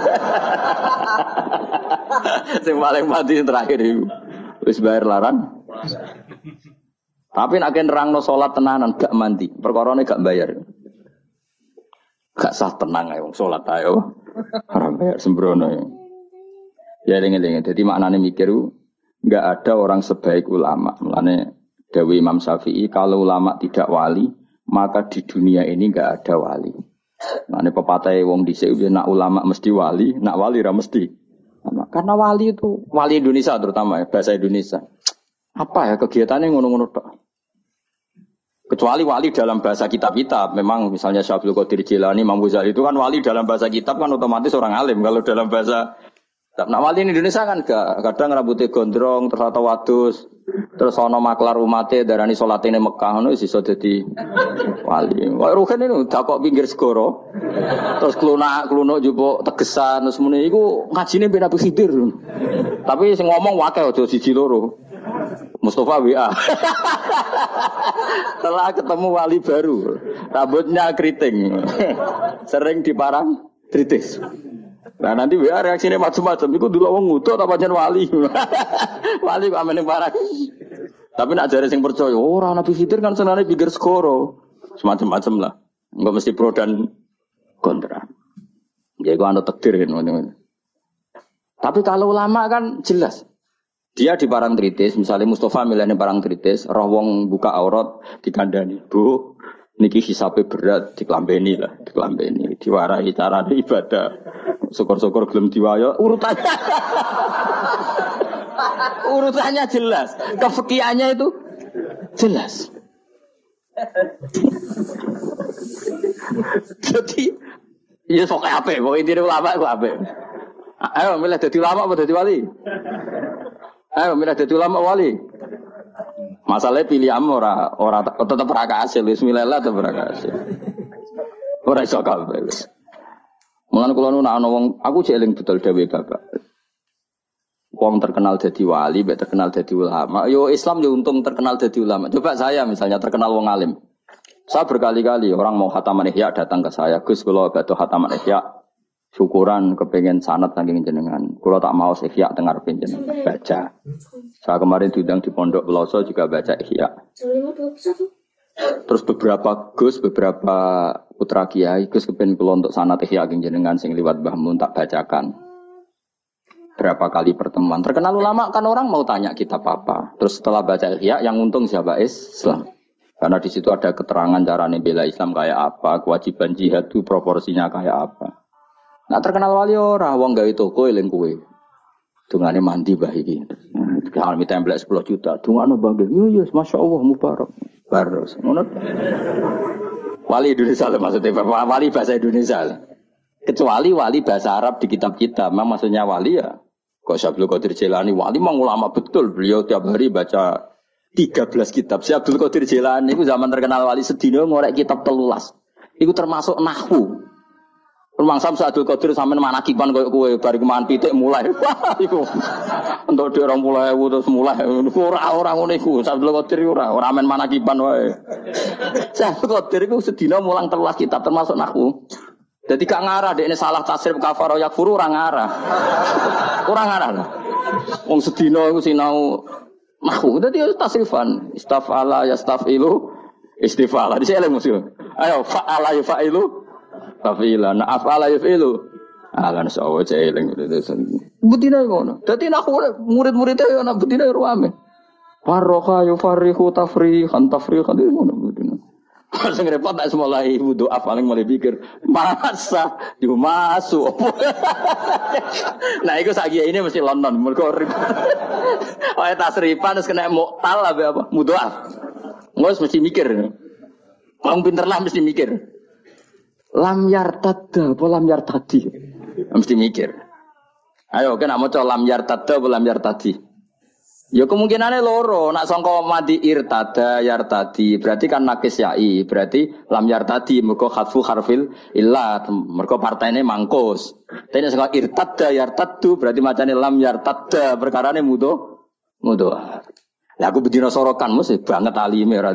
Sing paling mandi terakhir iku. Wes bayar larang. Tapi nek nerangno salat tenanan gak mandi. Perkarane gak bayar. Gak sah tenang ae wong salat ae. Ora bayar sembrono. Ya dengen-dengen. Dadi maknane mikir enggak ada orang sebaik ulama. Mulane dawuh Imam Syafi'i kalau ulama tidak wali, maka di dunia ini enggak ada wali. Mulane pepatah wong dhisik nak ulama mesti wali, nak wali ra mesti. Karena wali itu wali Indonesia terutama ya, bahasa Indonesia. Apa ya kegiatannya ngono-ngono tok. Kecuali wali dalam bahasa kitab-kitab. Memang misalnya Syekh Abdul Qadir Jilani, Imam Ghazali itu kan wali dalam bahasa kitab kan otomatis orang alim. Kalau dalam bahasa nah wali di Indonesia kan gak. Kadang rambutnya gondrong, terus atau wadus. Terus ana maklar umate darani salate ning Mekah ngono iso dadi wali. Kok rugen ini udah kok pinggir segoro. Terus klunak jupuk tegesan terus muni iku ngajine ben Nabi Khidir. Tapi sing ngomong wakil aja siji loro. Mustafa WA. Setelah ketemu wali baru, rambutnya keriting. Sering diparang kritis. Nah nanti WA reaksinya macam-macam. Iku dulu wong ngutuk apa jan wali. Wali kok amene parang. Tapi nak jare sing percaya, ora Nabi Khidir kan senane pikir skoro. Semacam-macam lah. Enggak mesti pro dan kontra. Ya iku anu takdir kan. Tapi kalau ulama kan jelas. Dia di parang tritis, misalnya Mustafa milihnya parang tritis, roh wong buka aurat dikandani, bu, niki hisabe berat, diklambeni lah, diklambeni, diwarai cara ibadah, syukur-syukur gelem diwayo, urutannya jelas, kefikihannya itu jelas. Jadi, ya sok apa? Pokoknya intinya ulama itu apa? Ayo milih jadi ulama atau jadi wali? Ayo milih jadi ulama wali. Masalahnya pilihan ora tetap rakasil. Bismillah tetap rakasil. Ora iso kabeh. Mulane kula nu ana wong aku jek eling betul dhewe Bapak. Wong terkenal jadi wali, mbek terkenal jadi ulama. Yo Islam yo untung terkenal jadi ulama. Coba saya misalnya terkenal wong alim. Saya berkali-kali orang mau khataman Ihya datang ke saya. Gus kula badhe khataman Ihya. Syukuran kepengen sanad saking jenengan. Kalau tak mau Ihya dengar jenengan baca. Saya kemarin diundang di Pondok Pelosok juga baca Ihya. Terus beberapa putra kiai Gus kepengen kula untuk sanad Ihya saking jenengan sing liwat Mbah Mun tak bacakan. Berapa kali pertemuan. Terkenal ulama kan orang mau tanya kitab apa. Terus setelah baca Ihya yang untung siapa? Islam. Karena di situ ada keterangan cara bela Islam kayak apa, kewajiban jihad itu proporsinya kayak apa. Nah terkenal wali ora wong gawe toko eling kowe. Dungane mandi mbah iki. Kalau minta template 10 juta, dungane bangga. Yo masyaallah mubarak. Baros. Ngono. Wali Indonesia lah maksudnya, wali bahasa Indonesia. Kecuali wali bahasa Arab di kitab-kitab. Memang maksudnya wali ya. Kok Syekh Abdul Qadir Jilani wali memang ulama betul. Beliau tiap hari baca 13 kitab. Syekh Abdul Qadir Jilani itu zaman terkenal wali sedina ngorek kitab 13. Itu termasuk nahwu. Rumangsa Abdul Qadir sampean manakiban koyo kowe bar keman pitik mulai. Wah iku. Entuk dhek 20.000 terus mulai. Ora ngono iku. Abdul Qadir ora men manakiban wae. Abdul Qadir iku sedina mulang 13 kitab termasuk nahwu. Dadi gak ngarah dekne salah tasrif kafaro yakfuru ora ngarah. Ora ngarah. Wong sedina iku sinau nahwu. Dadi tasrifan istafala yastafilu istifala. Dise eleng musuh. Ayo fa'ala yafa'ilu Fa'ila, nah afala yafilu. Alan sawo celing itu. Betina ngono. Dadi aku murid-muridnya anak betina ruame. Farroha yufarihu tafrihan ngono betina. Sing repot tak mulai wudu paling mulai pikir masa dimasuk. Nah iku saiki ini mesti London mergo wae tasrifan terus kena muktal apa mudoaf. Ngos mesti mikir. Wong pinter lah mesti mikir. Lam yartadda apa lam yartadi? Mesti mikir. Ayo kena maca lam yartadda apa lam yartadi? Ya kemungkinannya loro. Nak sangka madi irtada yartadi berarti kan nakis yai. Berarti lam yartadi mergo khatfu harfil illa mergo partene mangkus. Tapi sangka irtada yartaddu berarti macane lam yartadda perkarane mudo. Lah aku bedino sorokan mesti banget alime ora.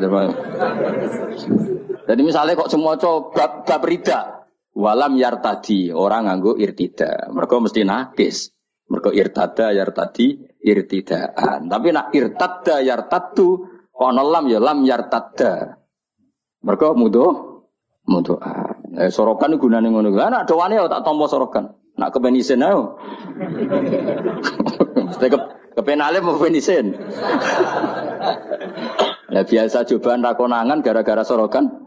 Jadi misalnya kok semua coba bab rida, walam yartadi orang nganggo irtida, mereka mesti nakis, mereka irtada yartadi irtidaan. Tapi nak irtada yartadu, kono lam ya lam yartada, mereka mudo. Sorokan gunane ngono. Anak doane tak tompo sorokan, nak kepenisen ayo. Mesti kepenale mau kepenisen. Ya biasa cobaan rakonangan gara-gara sorokan.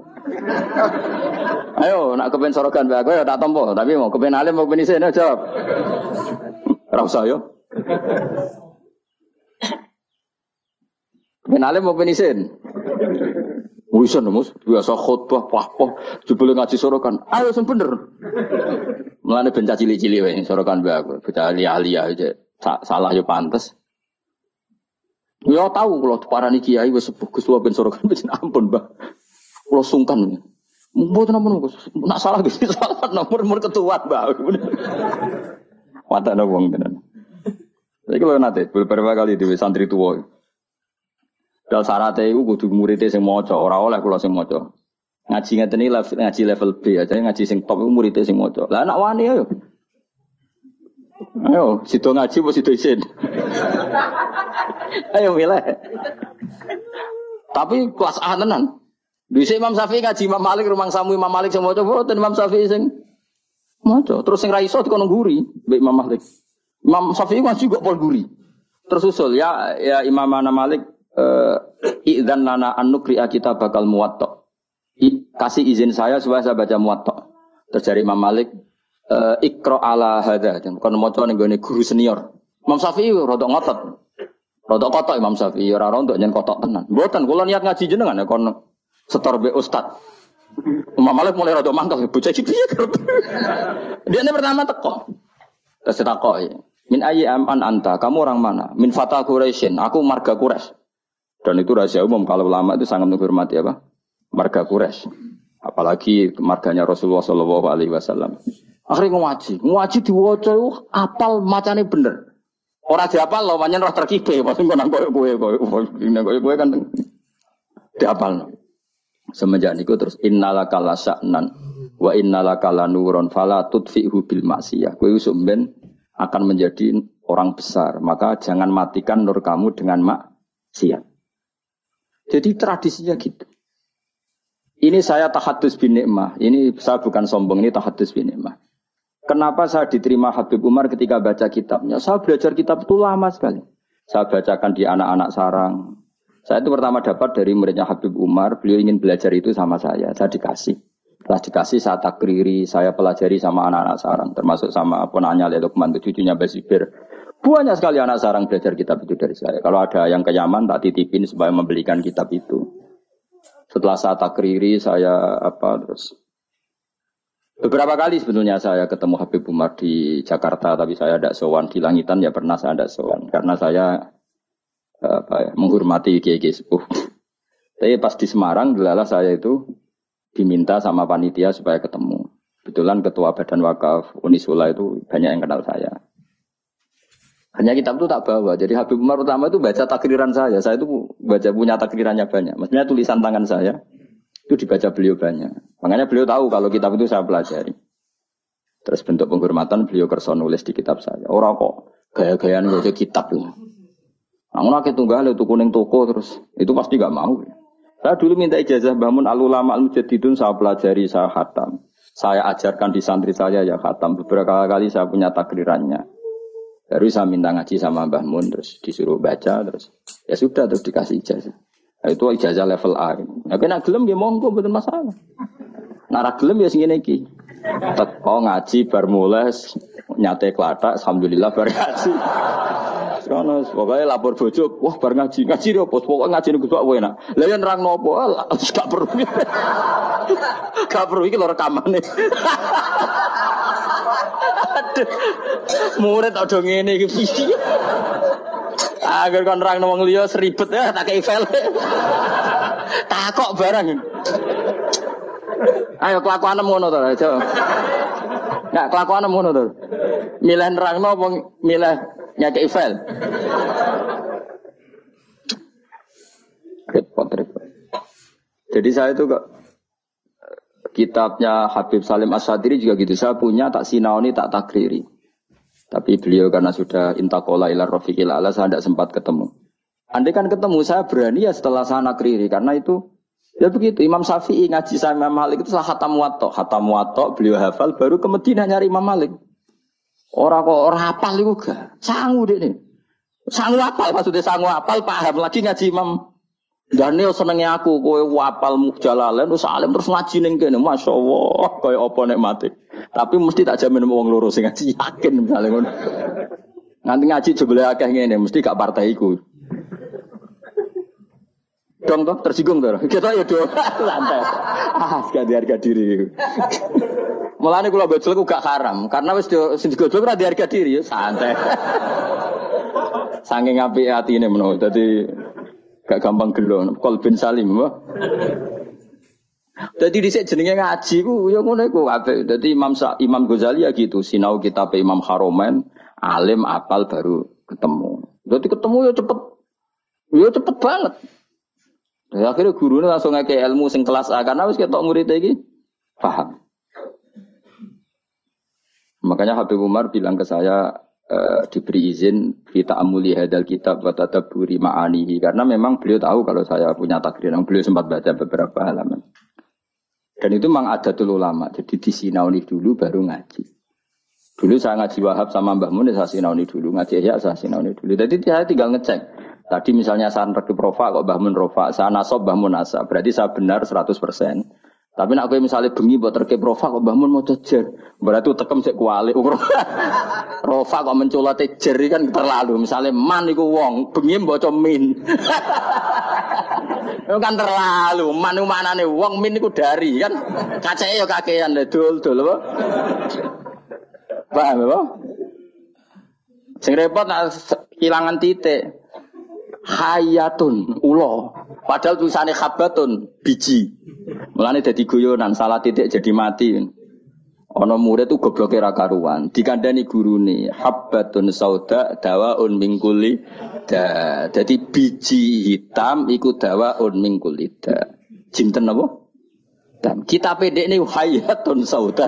Ayo nak kepen sorokan bae aku ya tak tompo, tapi mau kepen alim mau kepen isen jawab. Ora usah yo. Kepen alim mau kepen isen. Wisan Mus, biasa khutbah pah-pah, jebule ngaji sorokan. Ayo sing bener. Mulane ben cili-cili wae sorokan mbak aku. Bocah ahli aja. Salah yo pantes. Ya tahu kalau parani kiai wis bagus wae ben sorokan wis ampun, Mbah. Kula sungkan. Mboten ampun nak salah Gusti salah nomor ketua, Mbah. Watane wong tenan. Iki lho nate beberapa kali di santri tuwa. Dal syaratnya itu kudu muridnya sing maca, ora oleh kula sing maca. Ngaji ngeten iki ngaji level B aja, ngaji sing top iku muridnya sing maca. Lah anak wani ayo. Ayo, sido ngaji apa sido isin. Ayo milih. Tapi kelas A tenan. Dhisik Imam Syafi'i ngaji Imam Malik rumang samu Imam Malik sing maca boten Imam Syafi'i sing maca. Terus sing ra iso dikono nguri mbek Imam Malik. Imam Syafi'i ngaji kok pol nguri. Terus usul ya Imam Malik idzan lana an nuqri'a kita bakal muwatta. Kasih izin saya supaya saya baca muwatta. Terus dari Imam Malik ikra ala hadza. Kon maca ning gone guru senior. Imam Syafi'i rada ngotot. Rada kotok Imam Syafi'i ora rontok nyen kotok tenan. Mboten kula niat ngaji jenengan ya kon setor be ustaz. Imam Malik mulai rada mangkel bocah iki piye kerep. Dia ini pertama teko. Terus takoki, "Min ayyi an anta? Kamu orang mana?" "Min fata Quraisyin." Aku marga Quraisy. Dan itu rahasia umum kalau ulama itu sangat menghormati apa? Marga Quraisy. Apalagi marganya Rasulullah sallallahu alaihi wasallam. Akhirnya ngaji diwaca apal macane bener. Ora diapal lho, pancen roh terkibe, pas ngono kowe kan diapal. Semenjak niku terus innalaka lasa'nan wa innalaka lanurun fala tudfi'hu bil maksiyah. Kowe sumben akan menjadi orang besar, maka jangan matikan nur kamu dengan maksiat. Jadi tradisinya gitu. Ini saya tahadus bin ni'mah. Ini saya bukan sombong, ini tahadus bin ni'mah. Kenapa saya diterima Habib Umar ketika baca kitabnya? Saya belajar kitab itu lama sekali. Saya bacakan di anak-anak sarang. Saya itu pertama dapat dari muridnya Habib Umar. Beliau ingin belajar itu sama saya. Saya dikasih. Setelah dikasih saya takriri. Saya pelajari sama anak-anak sarang. Termasuk sama ponanya Lukman, cucunya Basibir. Banyak sekali anak sarang belajar kitab itu dari saya. Kalau ada yang ke Yaman tak titipin supaya membelikan kitab itu. Setelah saya takriri, saya terus beberapa kali sebetulnya saya ketemu Habib Umar di Jakarta, tapi saya tidak sowan. Di Langitan ya pernah saya tidak sowan karena saya menghormati kiai sepuh. Tapi pas di Semarang, delalah saya itu diminta sama panitia supaya ketemu. Kebetulan ketua Badan Wakaf Unisula itu banyak yang kenal saya. Hanya kitab itu tak bawa. Jadi Habib Umar utama itu baca takriran saya. Saya itu punya takrirannya banyak. Maksudnya tulisan tangan saya itu dibaca beliau banyak. Makanya beliau tahu kalau kitab itu saya pelajari. Terus bentuk penghormatan beliau kersa nulis di kitab saya. Orang kok gaya-gayaan baca kitab itu. Namun aku tunggal itu kuning toko terus itu pasti gak mau. Saya dulu minta ijazah bangun al-ulama al-mujaddidun, saya pelajari, saya khatam. Saya ajarkan di santri saya ya khatam. Beberapa kali saya punya takrirannya. Baru saya minta ngaji sama Mbah Mun, terus disuruh baca, terus ya sudah, terus dikasih ijazah. Nah, itu ijazah level A. Ya kena gelem ya monggo, betul masalah. Nara gelem ya sing ngene iki. Teko ngaji bar mulai nyate klathak, alhamdulillah bar ngaji. Sono pokoke lapor bojo, wah bar ngaji lho, pokoke ngaji niku kok enak. Lah yen nerangno apa? Gak perlu. Gak perlu iki lho rekamane. Murid ada ngene iki piye? Agar kon nerangno wong liya seribet ya tak kei file. Takok barang. Ayo kelakuanem ngono to, aja. Enggak kelakuanem ngono to. Milih nerangno apa milih nyakei file? Repot. Jadi saya itu kok kitabnya Habib Salim As-Sadiri juga gitu. Saya punya tak sinaoni tak takriri. Tapi beliau karena sudah intakola ila rafiqil ala saya tidak sempat ketemu. Andai kan ketemu saya berani ya setelah saya takriri karena itu ya begitu. Imam Syafi'i ngaji sama Imam Malik itu setelah khatam muwatta beliau hafal baru ke Madinah nyari Imam Malik. Orang hafal itu gak sangu deh nih. Sangu hafal maksudnya sangu hafal paham lagi ngaji Imam. Dan ini senengnya aku, kowe wapal Jalalain, terus alim terus ngaji ning kene, masyaallah, kowe apa nek mati. Tapi mesti tak jamin wong loro sing ngaji yakin misalnya ngono. Nganti ngaji jebule akeh ngene, mesti gak partai iku. Dong toh tersinggung toh. Kita ya dong. Santai. Sekali harga diri. Mulane kula gojol ku gak haram karena wis sing digojol ora harga diri ya santai. Saking apike atine menawa dadi gak gampang gelo. Qalbin salim apa? Dadi dhisik jenenge ngaji ku ya ngono iku apik. Dadi Imam Ghazali ya gitu, sinau kitab Imam Haromain, alim apal baru ketemu. Dadi ketemu ya cepet. Ya cepet banget. Ya akhirnya gurune langsung ngeke ilmu sing kelas A karena wis ketok murid iki paham. Makanya Habib Umar bilang ke saya diberi izin kita amuli hadal kitab wa tadabburi ma'anihi karena memang beliau tahu kalau saya punya takdir yang beliau sempat baca beberapa halaman. Dan itu memang adatul ulama. Jadi disinauni dulu baru ngaji. Dulu saya ngaji Wahab sama Mbah Mun saya sinauni dulu, ngaji Ihya saya sinauni dulu. Jadi saya tinggal ngecek. Tadi misalnya saya rekib rofa kok Mbah Mun rofa, saya nasab Mbah Mun nasab. Berarti saya benar 100%. Tapi nak kowe misalnya bengi buat rekib rofa kok Mbah Mun mau jejer. Berarti tekem sik kualik. Rofa kok menculate jer kan terlalu. Misalnya man iku wong, bengi maca min. Itu kan terlalu. Man iku maknane wong, min iku dari kan. Kaceke ya kakean dul apa? Paham apa? Sing repot nak kehilangan titik. Hayatun ulo. Padahal tulisannya khabatun biji. Mulane dadi guyonan salah titik jadi mati. Ana murid tuh gobloke ra karuan. Dikandani gurune habbatun sauda dawaun min kulli da. Dadi biji hitam iku dawaun min kulli da. Jinten apa? Dan kita pendek ini hayatun sauda.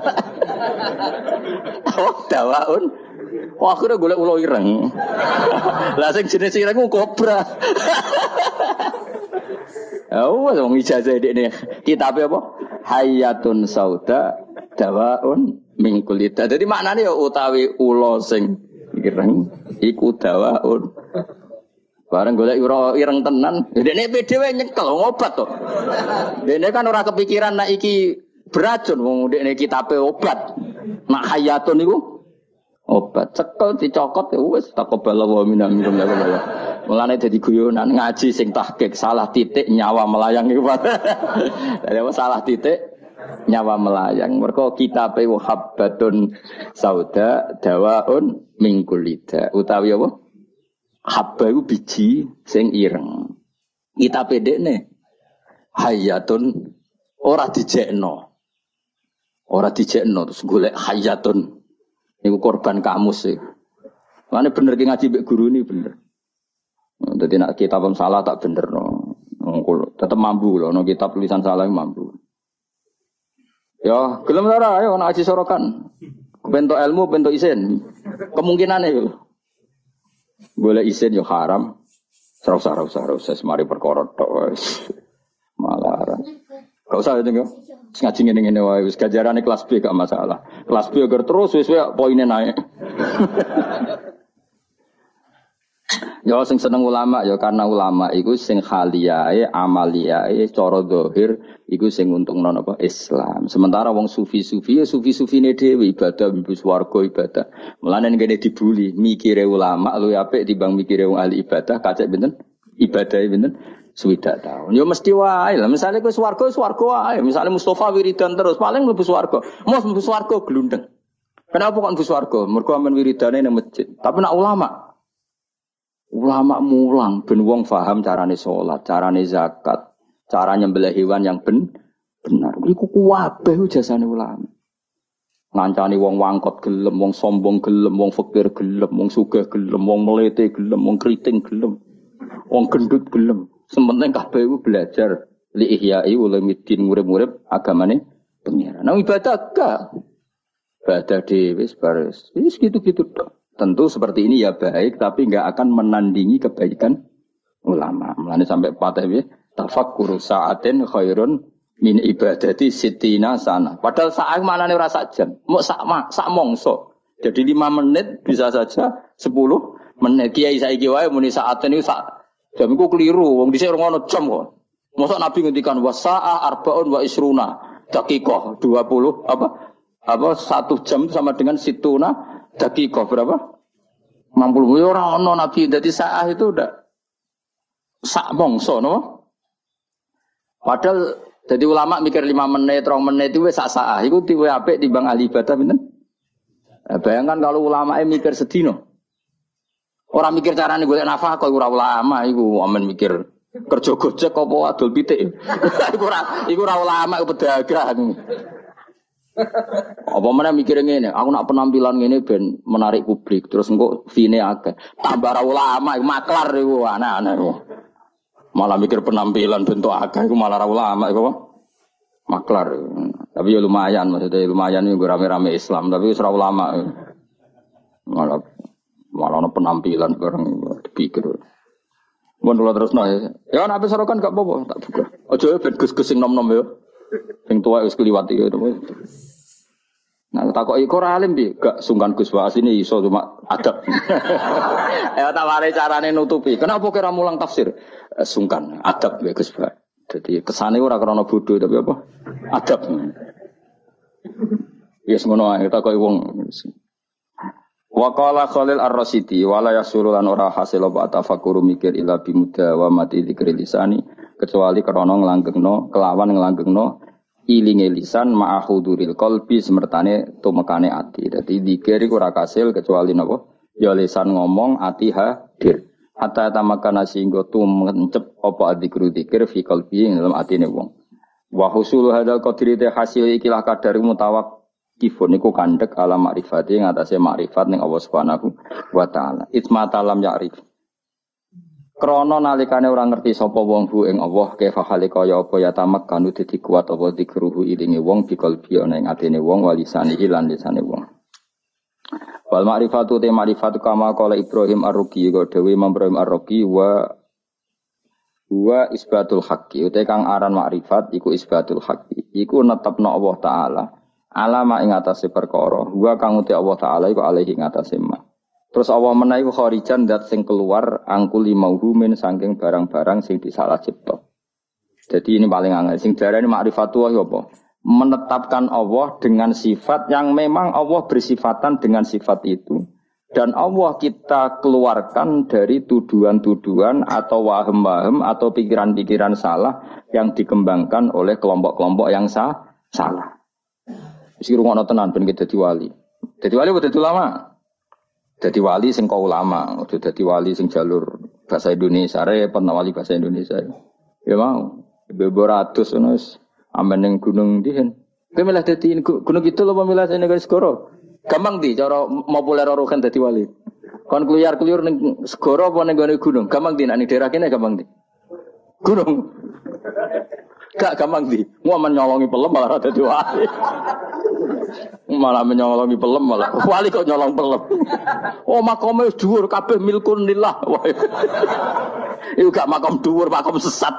Oh dawaun. Wah akhirnya golek ulo ireng. Lah sing jenis ireng ku kobra. Oh, wong ijazah dekne kitabe apa? Hayatun sauda dawaun min kulita. Dadi maknane ya utawi ulo sing ireng iku dawaun. Bareng golek ireng tenan, dekne PDW nyekel ngobat to. Dekne kan ora kepikiran nek iki beracun wong dekne kitabe obat. Mak hayatun iku obat cekel dicokot ya wis taqabbala wa minna minkum ya Allah. Mulane dadi guyonan ngaji sing tahqiq salah titik nyawa melayang iku. Dadi salah titik nyawa melayang. Mergo kitabe habbatun sauda dawaun min kulida. Utawi apa? Habba iku biji sing ireng. Kitabe dekne hayatun ora dijekno. Ora dijekno terus golek hayatun. Iku korban kamus sih. Mana bener ki ngaji mbek guru ini bener. Jadi nak kitab salah tak bener no. Tetap mampu loh. No kitab tulisan salah mampu. Ya, gelem ora ayo nak ngaji sorokan. Bentuk ilmu, bentuk isin. Kemungkinane yo. Boleh isin yo haram. Serau semari perkara tok wis. Malaran. Gak usah ya tengok. Ngaji ngene-ngene wae wis gajarane kelas B gak masalah. Kelas B agar terus wis poinnya naik. Ya sing seneng ulama ya karena ulama iku sing khaliyae amaliyae cara zahir iku sing untungno apa Islam. Sementara wong sufi-sufi ya sufi-sufine dhewe ibadah mlebu swarga ibadah. Mulane ngene dibuli mikire ulama luwih apik timbang mikire wong ahli ibadah kacek pinten? Ibadahe pinten? Swidak tahun. Ya mesti wae lah. Misale kowe swarga wae. Misale Mustafa wiridan terus paling mlebu swarga. Mos mlebu swarga glundeng. Kenapa kok mlebu swarga? Mergo amen wiridane nang masjid. Tapi nak ulama mulang ben wong paham carane salat, carane zakat, cara nyembelih hewan yang benar. Iku kuwabeh jasane ulama. Ngancani wong wangkot gelem, wong sombong gelem, wong fakir gelem, wong sugih gelem, wong melete gelem, wong kriting gelem, wong gendut gelem. Sementing kabeh iku belajar li ihya'i ulumuddin murid-murid agamane pengiran. Nah ibadah gak. Ibadah dhewe wis gitu-gitu tok. Tentu seperti ini ya baik tapi enggak akan menandingi kebaikan ulama. Mulane sampai patah ya tafakkuru sa'atin khairun min ibadati sittina sana. Padahal saat manane ora sak jam, mok sak mongso. Jadi 5 menit bisa saja 10 menit. Kiai saiki wae muni saaten niku sak jam iku keliru, wong dhisik ora ono jam kok. Mosok Nabi ngendikan wasa'a arbaun wa isruna daqiqah 20 apa 1 jam sama dengan situna daqiqah berapa? 60 ora ono Nabi dadi saah itu udah sak mongso no. Padahal jadi ulama mikir 5 menit, 3 menit itu wis sak-sak. Iku tiwe apik timbang ahli ibadah pinten? Bayangkan kalau ulama mikir sedino. Orang mikir carane golek nafkah kok ora ulama iku amen mikir kerja gojek apa adol pitik. Iku ora ulama iku pedagang. Apa mana mikir ngene, aku nak penampilan ngene ben menarik publik terus engko fine akeh. Tambah ra ulama iku maklar iku anak-anak iku. Malah mikir penampilan bentuk akeh iku malah ra ulama iku apa? Maklar. Tapi ya lumayan maksudnya lumayan iku rame-rame Islam tapi wis ra ulama. Malah ana penampilan bareng dipikir. Mun kula terusno ya. Ya nek sorokan gak apa-apa tak buka. Aja ben gus-gus sing nom-nom ya. Sing tuwa wis kliwat iki. Nah, takoki kok ora alim piye? Gak sungkan Gus Waas ini iso cuma adab. Ya taware carane nutupi. Kenapa kira mulang tafsir? Sungkan adab ya Gus Waas. Jadi kesane ora krana bodoh tapi apa? Adab. Yes ngono ae takoki wong. Wa qala Khalil Ar-Rasyidi wala yasuru lan ora hasil apa tafakkur mikir ila bimuda wa mati dzikri lisani kecuali krana nglanggengno kelawan nglanggengno ilinge lisan ma'ahuduril qalbi semertane tumekane ati. Dadi zikir iku ora kasil kecuali napa? Ya lisan ngomong, ati hadir. Hatta tamakana singgo tumencep apa dzikru dzikir fi qalbi ing dalam atine wong. Wa husul hadal qadri te hasil ikilah kadar mutawaqqifun niku kandhek ala makrifati ing atase makrifat ning Allah Subhanahu wa taala. Itma talam ya'rif. Krono nalikane ora ngerti sapa wong bu ing Allah kefa hale kaya apa ya tamak kanu dadi kuat apa dikruhu ilinge wong bikal biana ing atine wong walisane lan lisane wong. Wal ma'rifatu te ma'rifatu kama qala Ibrahim Ar-Ruqi kok dewe Ibrahim Ar-Ruqi wa isbatul haqqi uta kang aran ma'rifat iku isbatul haqqi iku netepno Allah taala alama ing atase perkara wa kang uti Allah taala iku alaihi ing atase ma. Terus Allah menawi kharijan dat sing keluar angkuli mauhumin saking barang-barang sing disalah cipta. Jadi ini paling angel. Sing darane ma'rifatullah apa? Menetapkan Allah dengan sifat yang memang Allah bersifatan dengan sifat itu. Dan Allah kita keluarkan dari tuduhan-tuduhan atau wahem-wahem atau pikiran-pikiran salah yang dikembangkan oleh kelompok-kelompok yang salah. Wis rungono tenan ben dadi wali. Dadi wali dadi ulama. Dadi wali sing kau ulama, udah dadi wali sing jalur bahasa Indonesia, repot wali bahasa Indonesia. Ya mau, beberatus wis amen ning gunung dihen. Kowe milih dadi gunung itu lho pemilih sing negara segoro. Gampang di cara populer rokan dadi wali. Kon kluyar-kluyur ning segoro apa ning gunung? Gampang di nek ning daerah kene gampang di. Gunung. Gak gampang di. Mau menyolongi pelem malah dadi wali. Malah menyolongi pelem malah wali kok nyolong pelem. Oh makome wis dhuwur kabeh milkun lillah. Iku gak makom dhuwur, makom sesat.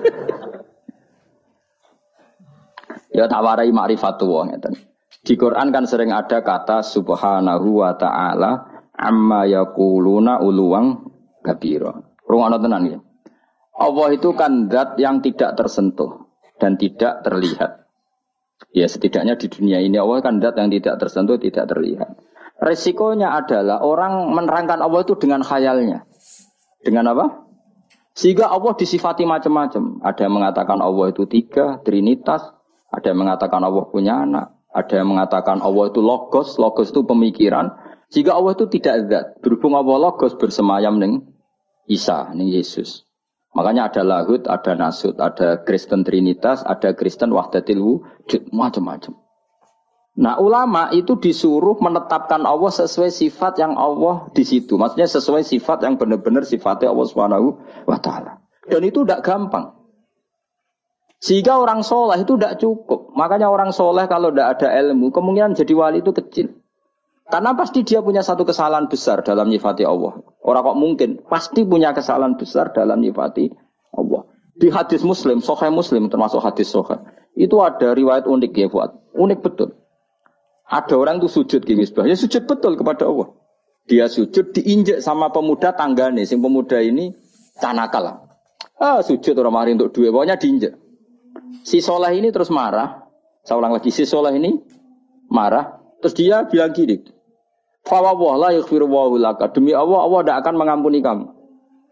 Ya tawarai ma'rifatullah ngeten. Di Quran kan sering ada kata subhanahu wa ta'ala amma yaquluna uluwang kabira. Rungono tenan ya. Allah itu kan zat yang tidak tersentuh dan tidak terlihat. Ya setidaknya di dunia ini Allah kan zat yang tidak tersentuh, tidak terlihat. Resikonya adalah orang menerangkan Allah itu dengan khayalnya. Dengan apa? Sehingga Allah disifati macam-macam. Ada yang mengatakan Allah itu 3, trinitas. Ada yang mengatakan Allah punya anak. Ada yang mengatakan Allah itu logos. Logos itu pemikiran. Sehingga Allah itu tidak zat. Berhubung Allah logos bersemayam ning Isa, ning Yesus. Makanya ada lahud, ada nasud, ada Kristen Trinitas, ada Kristen Wahdatil Wujud, macam-macam. Nah ulama itu disuruh menetapkan Allah sesuai sifat yang Allah di situ. Maksudnya sesuai sifat yang benar-benar sifatnya Allah Subhanahu wa Ta'ala. Dan itu tidak gampang. Sehingga orang soleh itu tidak cukup. Makanya orang soleh kalau tidak ada ilmu, kemungkinan jadi wali itu kecil. Karena pasti dia punya satu kesalahan besar dalam nyifati Allah. Orang kok mungkin pasti punya kesalahan besar dalam nyifati Allah. Di hadis Muslim, Sahih Muslim termasuk hadis Sahih, itu ada riwayat unik ya Fuad. Unik betul. Ada orang itu sujud gini sebab, ya sujud betul kepada Allah. Dia sujud diinjek sama pemuda tanggane, sing pemuda ini tanakal. Sujud orang mari untuk duit, pokoknya diinjek. Si soleh ini terus marah. Saya ulang lagi, si soleh ini marah. Terus dia bilang gini. Fa wa la yaghfiru wa laka. Demi Allah, Allah tidak akan mengampuni kamu.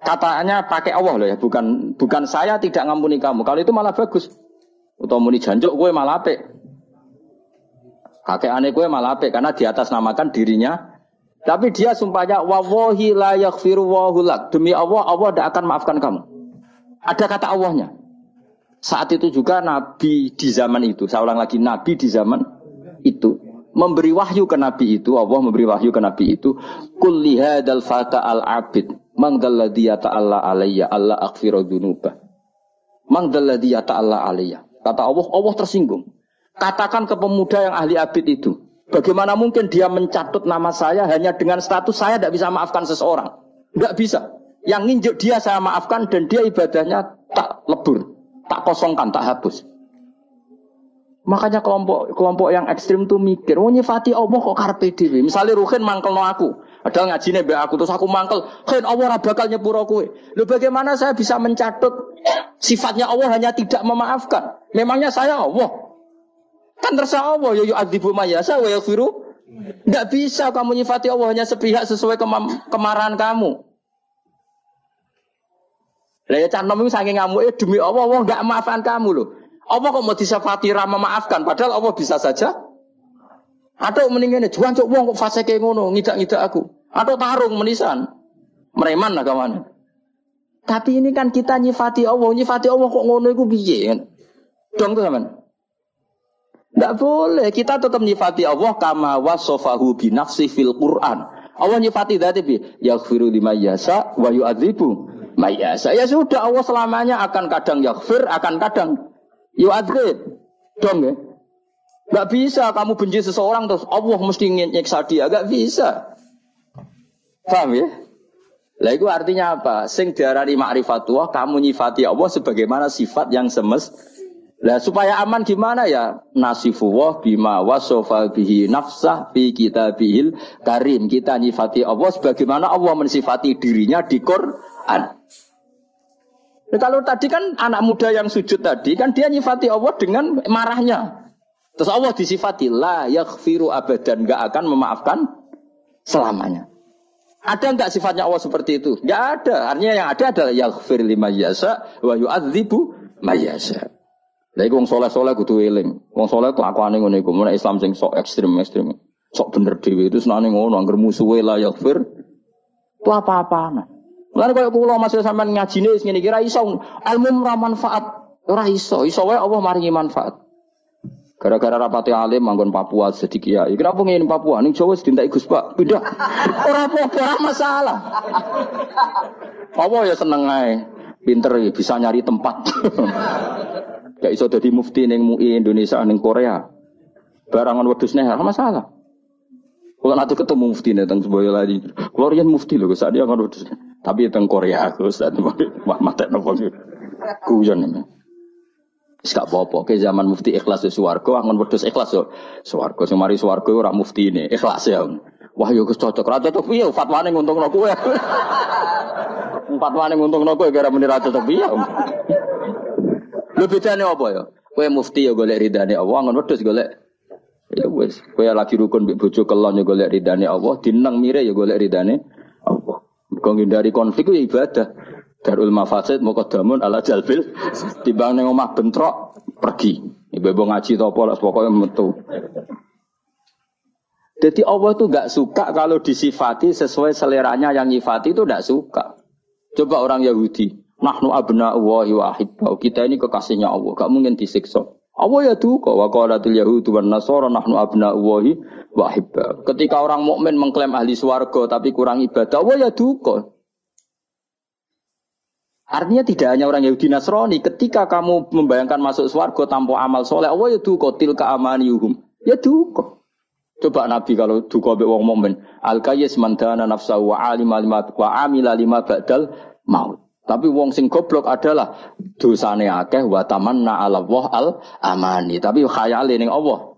Katanya pakai Allah loh ya, bukan saya tidak ngampuni kamu. Kalau itu malah bagus. Utawa muni janjuk kowe malah apik. Kakekane kowe malah apik karena di atas namakan dirinya. Tapi dia sumpahnya wallahi la yaghfiru wallahu lak. Demi Allah, Allah tidak akan maafkan kamu. Ada kata Allahnya. Saat itu juga Nabi di zaman itu, saya ulang lagi, Nabi di zaman itu memberi wahyu ke Nabi itu, Allah memberi wahyu ke Nabi itu, kul lihadal fata al-abid mangdalladhi yata'alla alayya alla aghfiru dzunubah. Mangdalladhi yata'alla alayya. Kata Allah, Allah tersinggung. Katakan ke pemuda yang ahli abid itu, bagaimana mungkin dia mencatut nama saya hanya dengan status saya tidak bisa maafkan seseorang? Tidak bisa. Yang nginjuk dia saya maafkan dan dia ibadahnya tak lebur. Tak kosongkan, tak hapus. Makanya kelompok yang ekstrim tuh mikir, oh nyifati Allah kok karepe dhewe. Misale Ruhin mangkelno aku, padahal ngajine mbek aku terus aku mangkel, "Khen Allah ora bakal nyepuro kowe." Lho bagaimana saya bisa mencatut sifatnya Allah hanya tidak memaafkan? Memangnya saya Allah? Kan terserah Allah, ya yu'adzibu mayasa wa yaghfiru. Enggak bisa kamu nyifati Allah hanya sepihak sesuai kemarahan kamu. Lah ya canom itu saking ngamuke demi Allah enggak maafkan kamu loh. Allah kok mau disifati ra memaafkan padahal Allah bisa saja. Atau mendingane juancuk wong kok fasike ngono, ngidak-ngidak aku. Atau tarung menisan. Mereman lah kawan. Tapi ini kan kita nyifati Allah kok ngono iku piye kan? Dong tuh sampean. Enggak boleh, kita tetap nyifati Allah kama wasafahu bi nafsi fil Quran. Allah nyifati dzat bi yaghfiru liman yasha wa yu'adzibu Maya, saya sudah Allah selamanya akan kadang yaghfir, akan kadang yu'adzib. Dong ya. Gak bisa kamu benci seseorang terus Allah mesti nyiksa dia, gak bisa. Paham ya? Lah itu artinya apa? Sing diarani ma'rifatullah, kamu nyifati Allah sebagaimana sifat yang Lah supaya aman gimana ya? Nasifullah bima wasofa bihi nafsah fi kitabihil karim. Kita nyifati Allah sebagaimana Allah mensifati dirinya di Quran. Nah, kalau tadi kan anak muda yang sujud tadi kan dia nyifati Allah dengan marahnya. Terus Allah disifati la yaghfiru abadan, enggak akan memaafkan selamanya. Ada enggak sifatnya Allah seperti itu? Enggak ada. Artinya yang ada adalah yaghfir liman yasha wa yu'adzibu may yasha. Lah iku wong saleh-saleh kudu eling. Wong saleh ku akwane ngene iku, mun Islam sing sok ekstrem. Sok bener dhewe itu senane ngono, anggere musuhe la yaghfir. Itu apa-apaan. Lan koyo kula masih sampean ngajine wis ngene iki ra iso ilmu ora manfaat, ora iso wae Allah maringi manfaat. Gara-gara rapati alim manggon Papua jadi kiai. Kenapa ngene Papua ning Jawa sedintek Gus Pak, pindah. Ora apa-apa masalah. Allah ya seneng ae. Pinter ya bisa nyari tempat. Gak iso dadi mufti ning MUI Indonesia ning Korea. Barangan wedhus nek ora masalah. Kalau nanti ketemu mufti nih tentang sebuah lagi, kalau rian mufti loh, saat dia kan udah, tapi tentang Korea aku saat mata nopo kuyon ini. Sekak apa-apa, ke zaman mufti ikhlas di suwargo, angon wedhus ikhlas yo, suwargo, semari suwargo orang mufti ini ikhlas ya. Wah yo cocok, rata cocok piye, fatwane nguntung nopo ya. Fatwane nguntung nopo gara muni rata cocok piye. Lu bedane apa ya? Kowe mufti yo golek ridane Allah, angon wedhus golek. Ya wes, kowe lagi rukun mbek bojo kelon ya golek ridane Allah, dineng mire ya golek ridane Allah. Kok ngindari konflik ya ibadah. Darul mafasid muqaddamun ala jalbil. Timbang ning omah bentrok pergi. Ibu ngaji to apa lah pokoke metu. Jadi Allah itu enggak suka kalau disifati sesuai seleranya yang nyifati itu enggak suka. Coba orang Yahudi, nahnu abna'ullahi wa ahibbau. Kita ini kekasihnya Allah, enggak mungkin disiksa. Allah ya duka wa qalatul yahudu wan nasara nahnu abna'ullahi wa ahibbau. Ketika orang mukmin mengklaim ahli swarga tapi kurang ibadah, Allah ya duka. Artinya tidak hanya orang Yahudi Nasrani, ketika kamu membayangkan masuk swarga tanpa amal soleh, Allah ya duka tilka amaniyuhum. Ya duka. Coba Nabi kalau duka mbek wong mukmin, al-qayyis man dana nafsahu wa alima lima wa amila lima ba'dal maut. Tapi wong sing goblok adalah dosane akeh wa tamanna 'ala Allah al-amani. Tapi khayale ning Allah.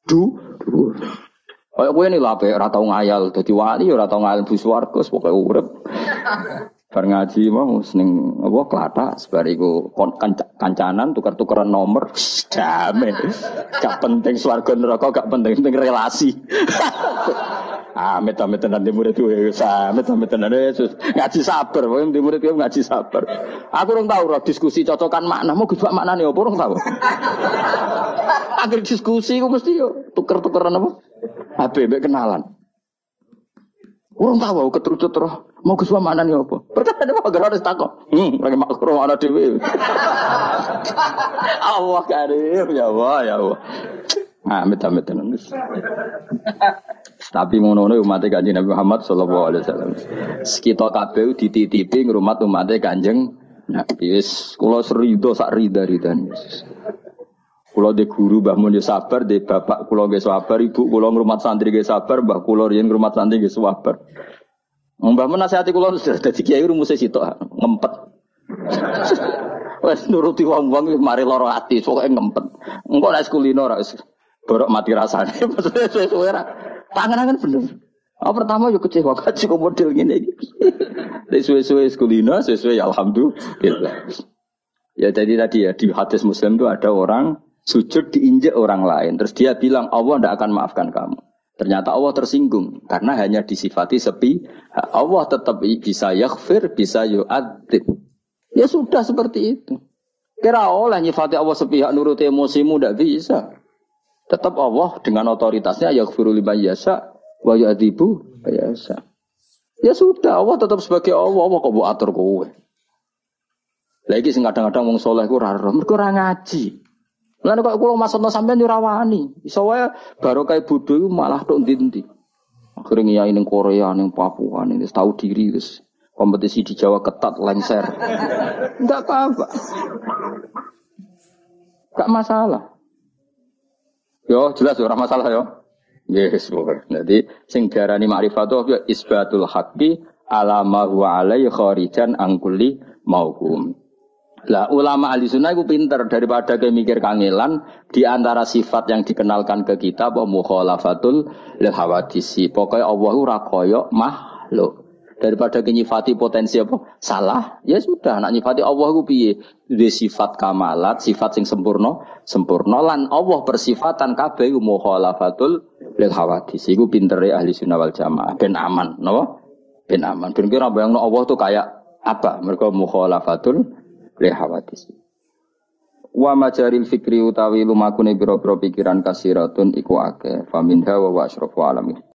Kayak kowe ini lha ora tau ngayal dadi wali ora tau ngayal bu swarga pokoke urip. Bar ngaji mau seneng apa klathak sebariku kancanan tukar-tukaran nomor damai. Gak penting swarga neraka, gak penting relasi. Amit-amit nanti murid gue, amit-amit nanti Yesus ngaji sabar, wong di murid gue ngaji sabar. Aku orang tahu roh diskusi cocokan makna, mau gede makna nih, apa orang tahu? Akhir diskusi gue mesti yo tuker-tukeran apa? HB kenalan. Orang tahu keterucut roh, mau gede makna nih apa? Perkara ada apa? Harus takut. Lagi makro mana dewi. Allah karim, ya Allah, ya Allah. Amit-amit nanti. Tapi ngono umat Kanjeng Nabi Muhammad sallallahu alaihi wasallam. Kita kabeh dititipi ngrumat umat Kanjeng Nabi. Wis kula serido sak rida-ridane. Kula de guru Mbah Mun yo sabar, de bapak kula nggih sabar, ibu kula ngrumat santri nggih sabar, mbah kula riyen ngrumat santri nggih sabar. Mbah Mun nasihati kula dadi kiai rumuse sitok ngempet. Wes nuruti wong-wong mari lara ati, pokoke ngempet. Engko nek kulino ora wis borok mati rasane. Maksudnya suwe-suwe ora tangan-tangan bener. Pertama yo kecewa kaji kok model ngene iki. Nek suwe-suwe kulino, suwe-suwe ya alhamdulillah. Ya jadi tadi ya di hadis Muslim itu ada orang sujud diinjak orang lain. Terus dia bilang Allah tidak akan maafkan kamu. Ternyata Allah tersinggung karena hanya disifati sepi. Allah tetap bisa yaghfir, bisa yu'adzib. Ya sudah seperti itu. Kira oleh nyifati Allah sepihak nurut emosimu tidak bisa. Tetap Allah dengan otoritasnya yaghfiru liman yasha wa yu'adzibu yasha. Ya sudah Allah tetap sebagai Allah. Allah kok mbok atur kowe. Lagi sing kadang-kadang wong saleh ku ora mergo ora ngaji. Lan kok kula maksudna sampean yo ora wani. Iso wae barokah bodho iku malah tok ndi-ndi. Akhire ngiyai ning Korea, ning Papua, ning tahu diri wis kompetisi di Jawa ketat lengser. Enggak apa-apa. Enggak masalah. Yo jelas ora masalah yo. Yes, pokoknya. Jadi sing diarani ma'rifatu ya isbatul haqqi ala ma huwa alaihi kharijan an kulli mauhum. Lah ulama ahli sunnah itu pinter daripada kayak mikir kangelan di antara sifat yang dikenalkan ke kita apa mukhalafatul lil hawadisi. Pokoknya Allah ora kaya makhluk. Daripada nyifati potensi apa salah, ya sudah nak nyifati Allah ku piye? Duwe sifat kamalat, sifat sing sempurna lan Allah persifatan kabeh mukhalafatul lil hawadisi. Iku pintere ahli sunnah wal jamaah ben aman, napa? Ben aman. Ben kira bayangno Allah tuh kayak apa? Mergo mukhalafatul lil hawadisi. Wa majaril fikri utawi lumakune biro-biro pikiran kasiratun iku akeh. Faminha wa asrafu alamin.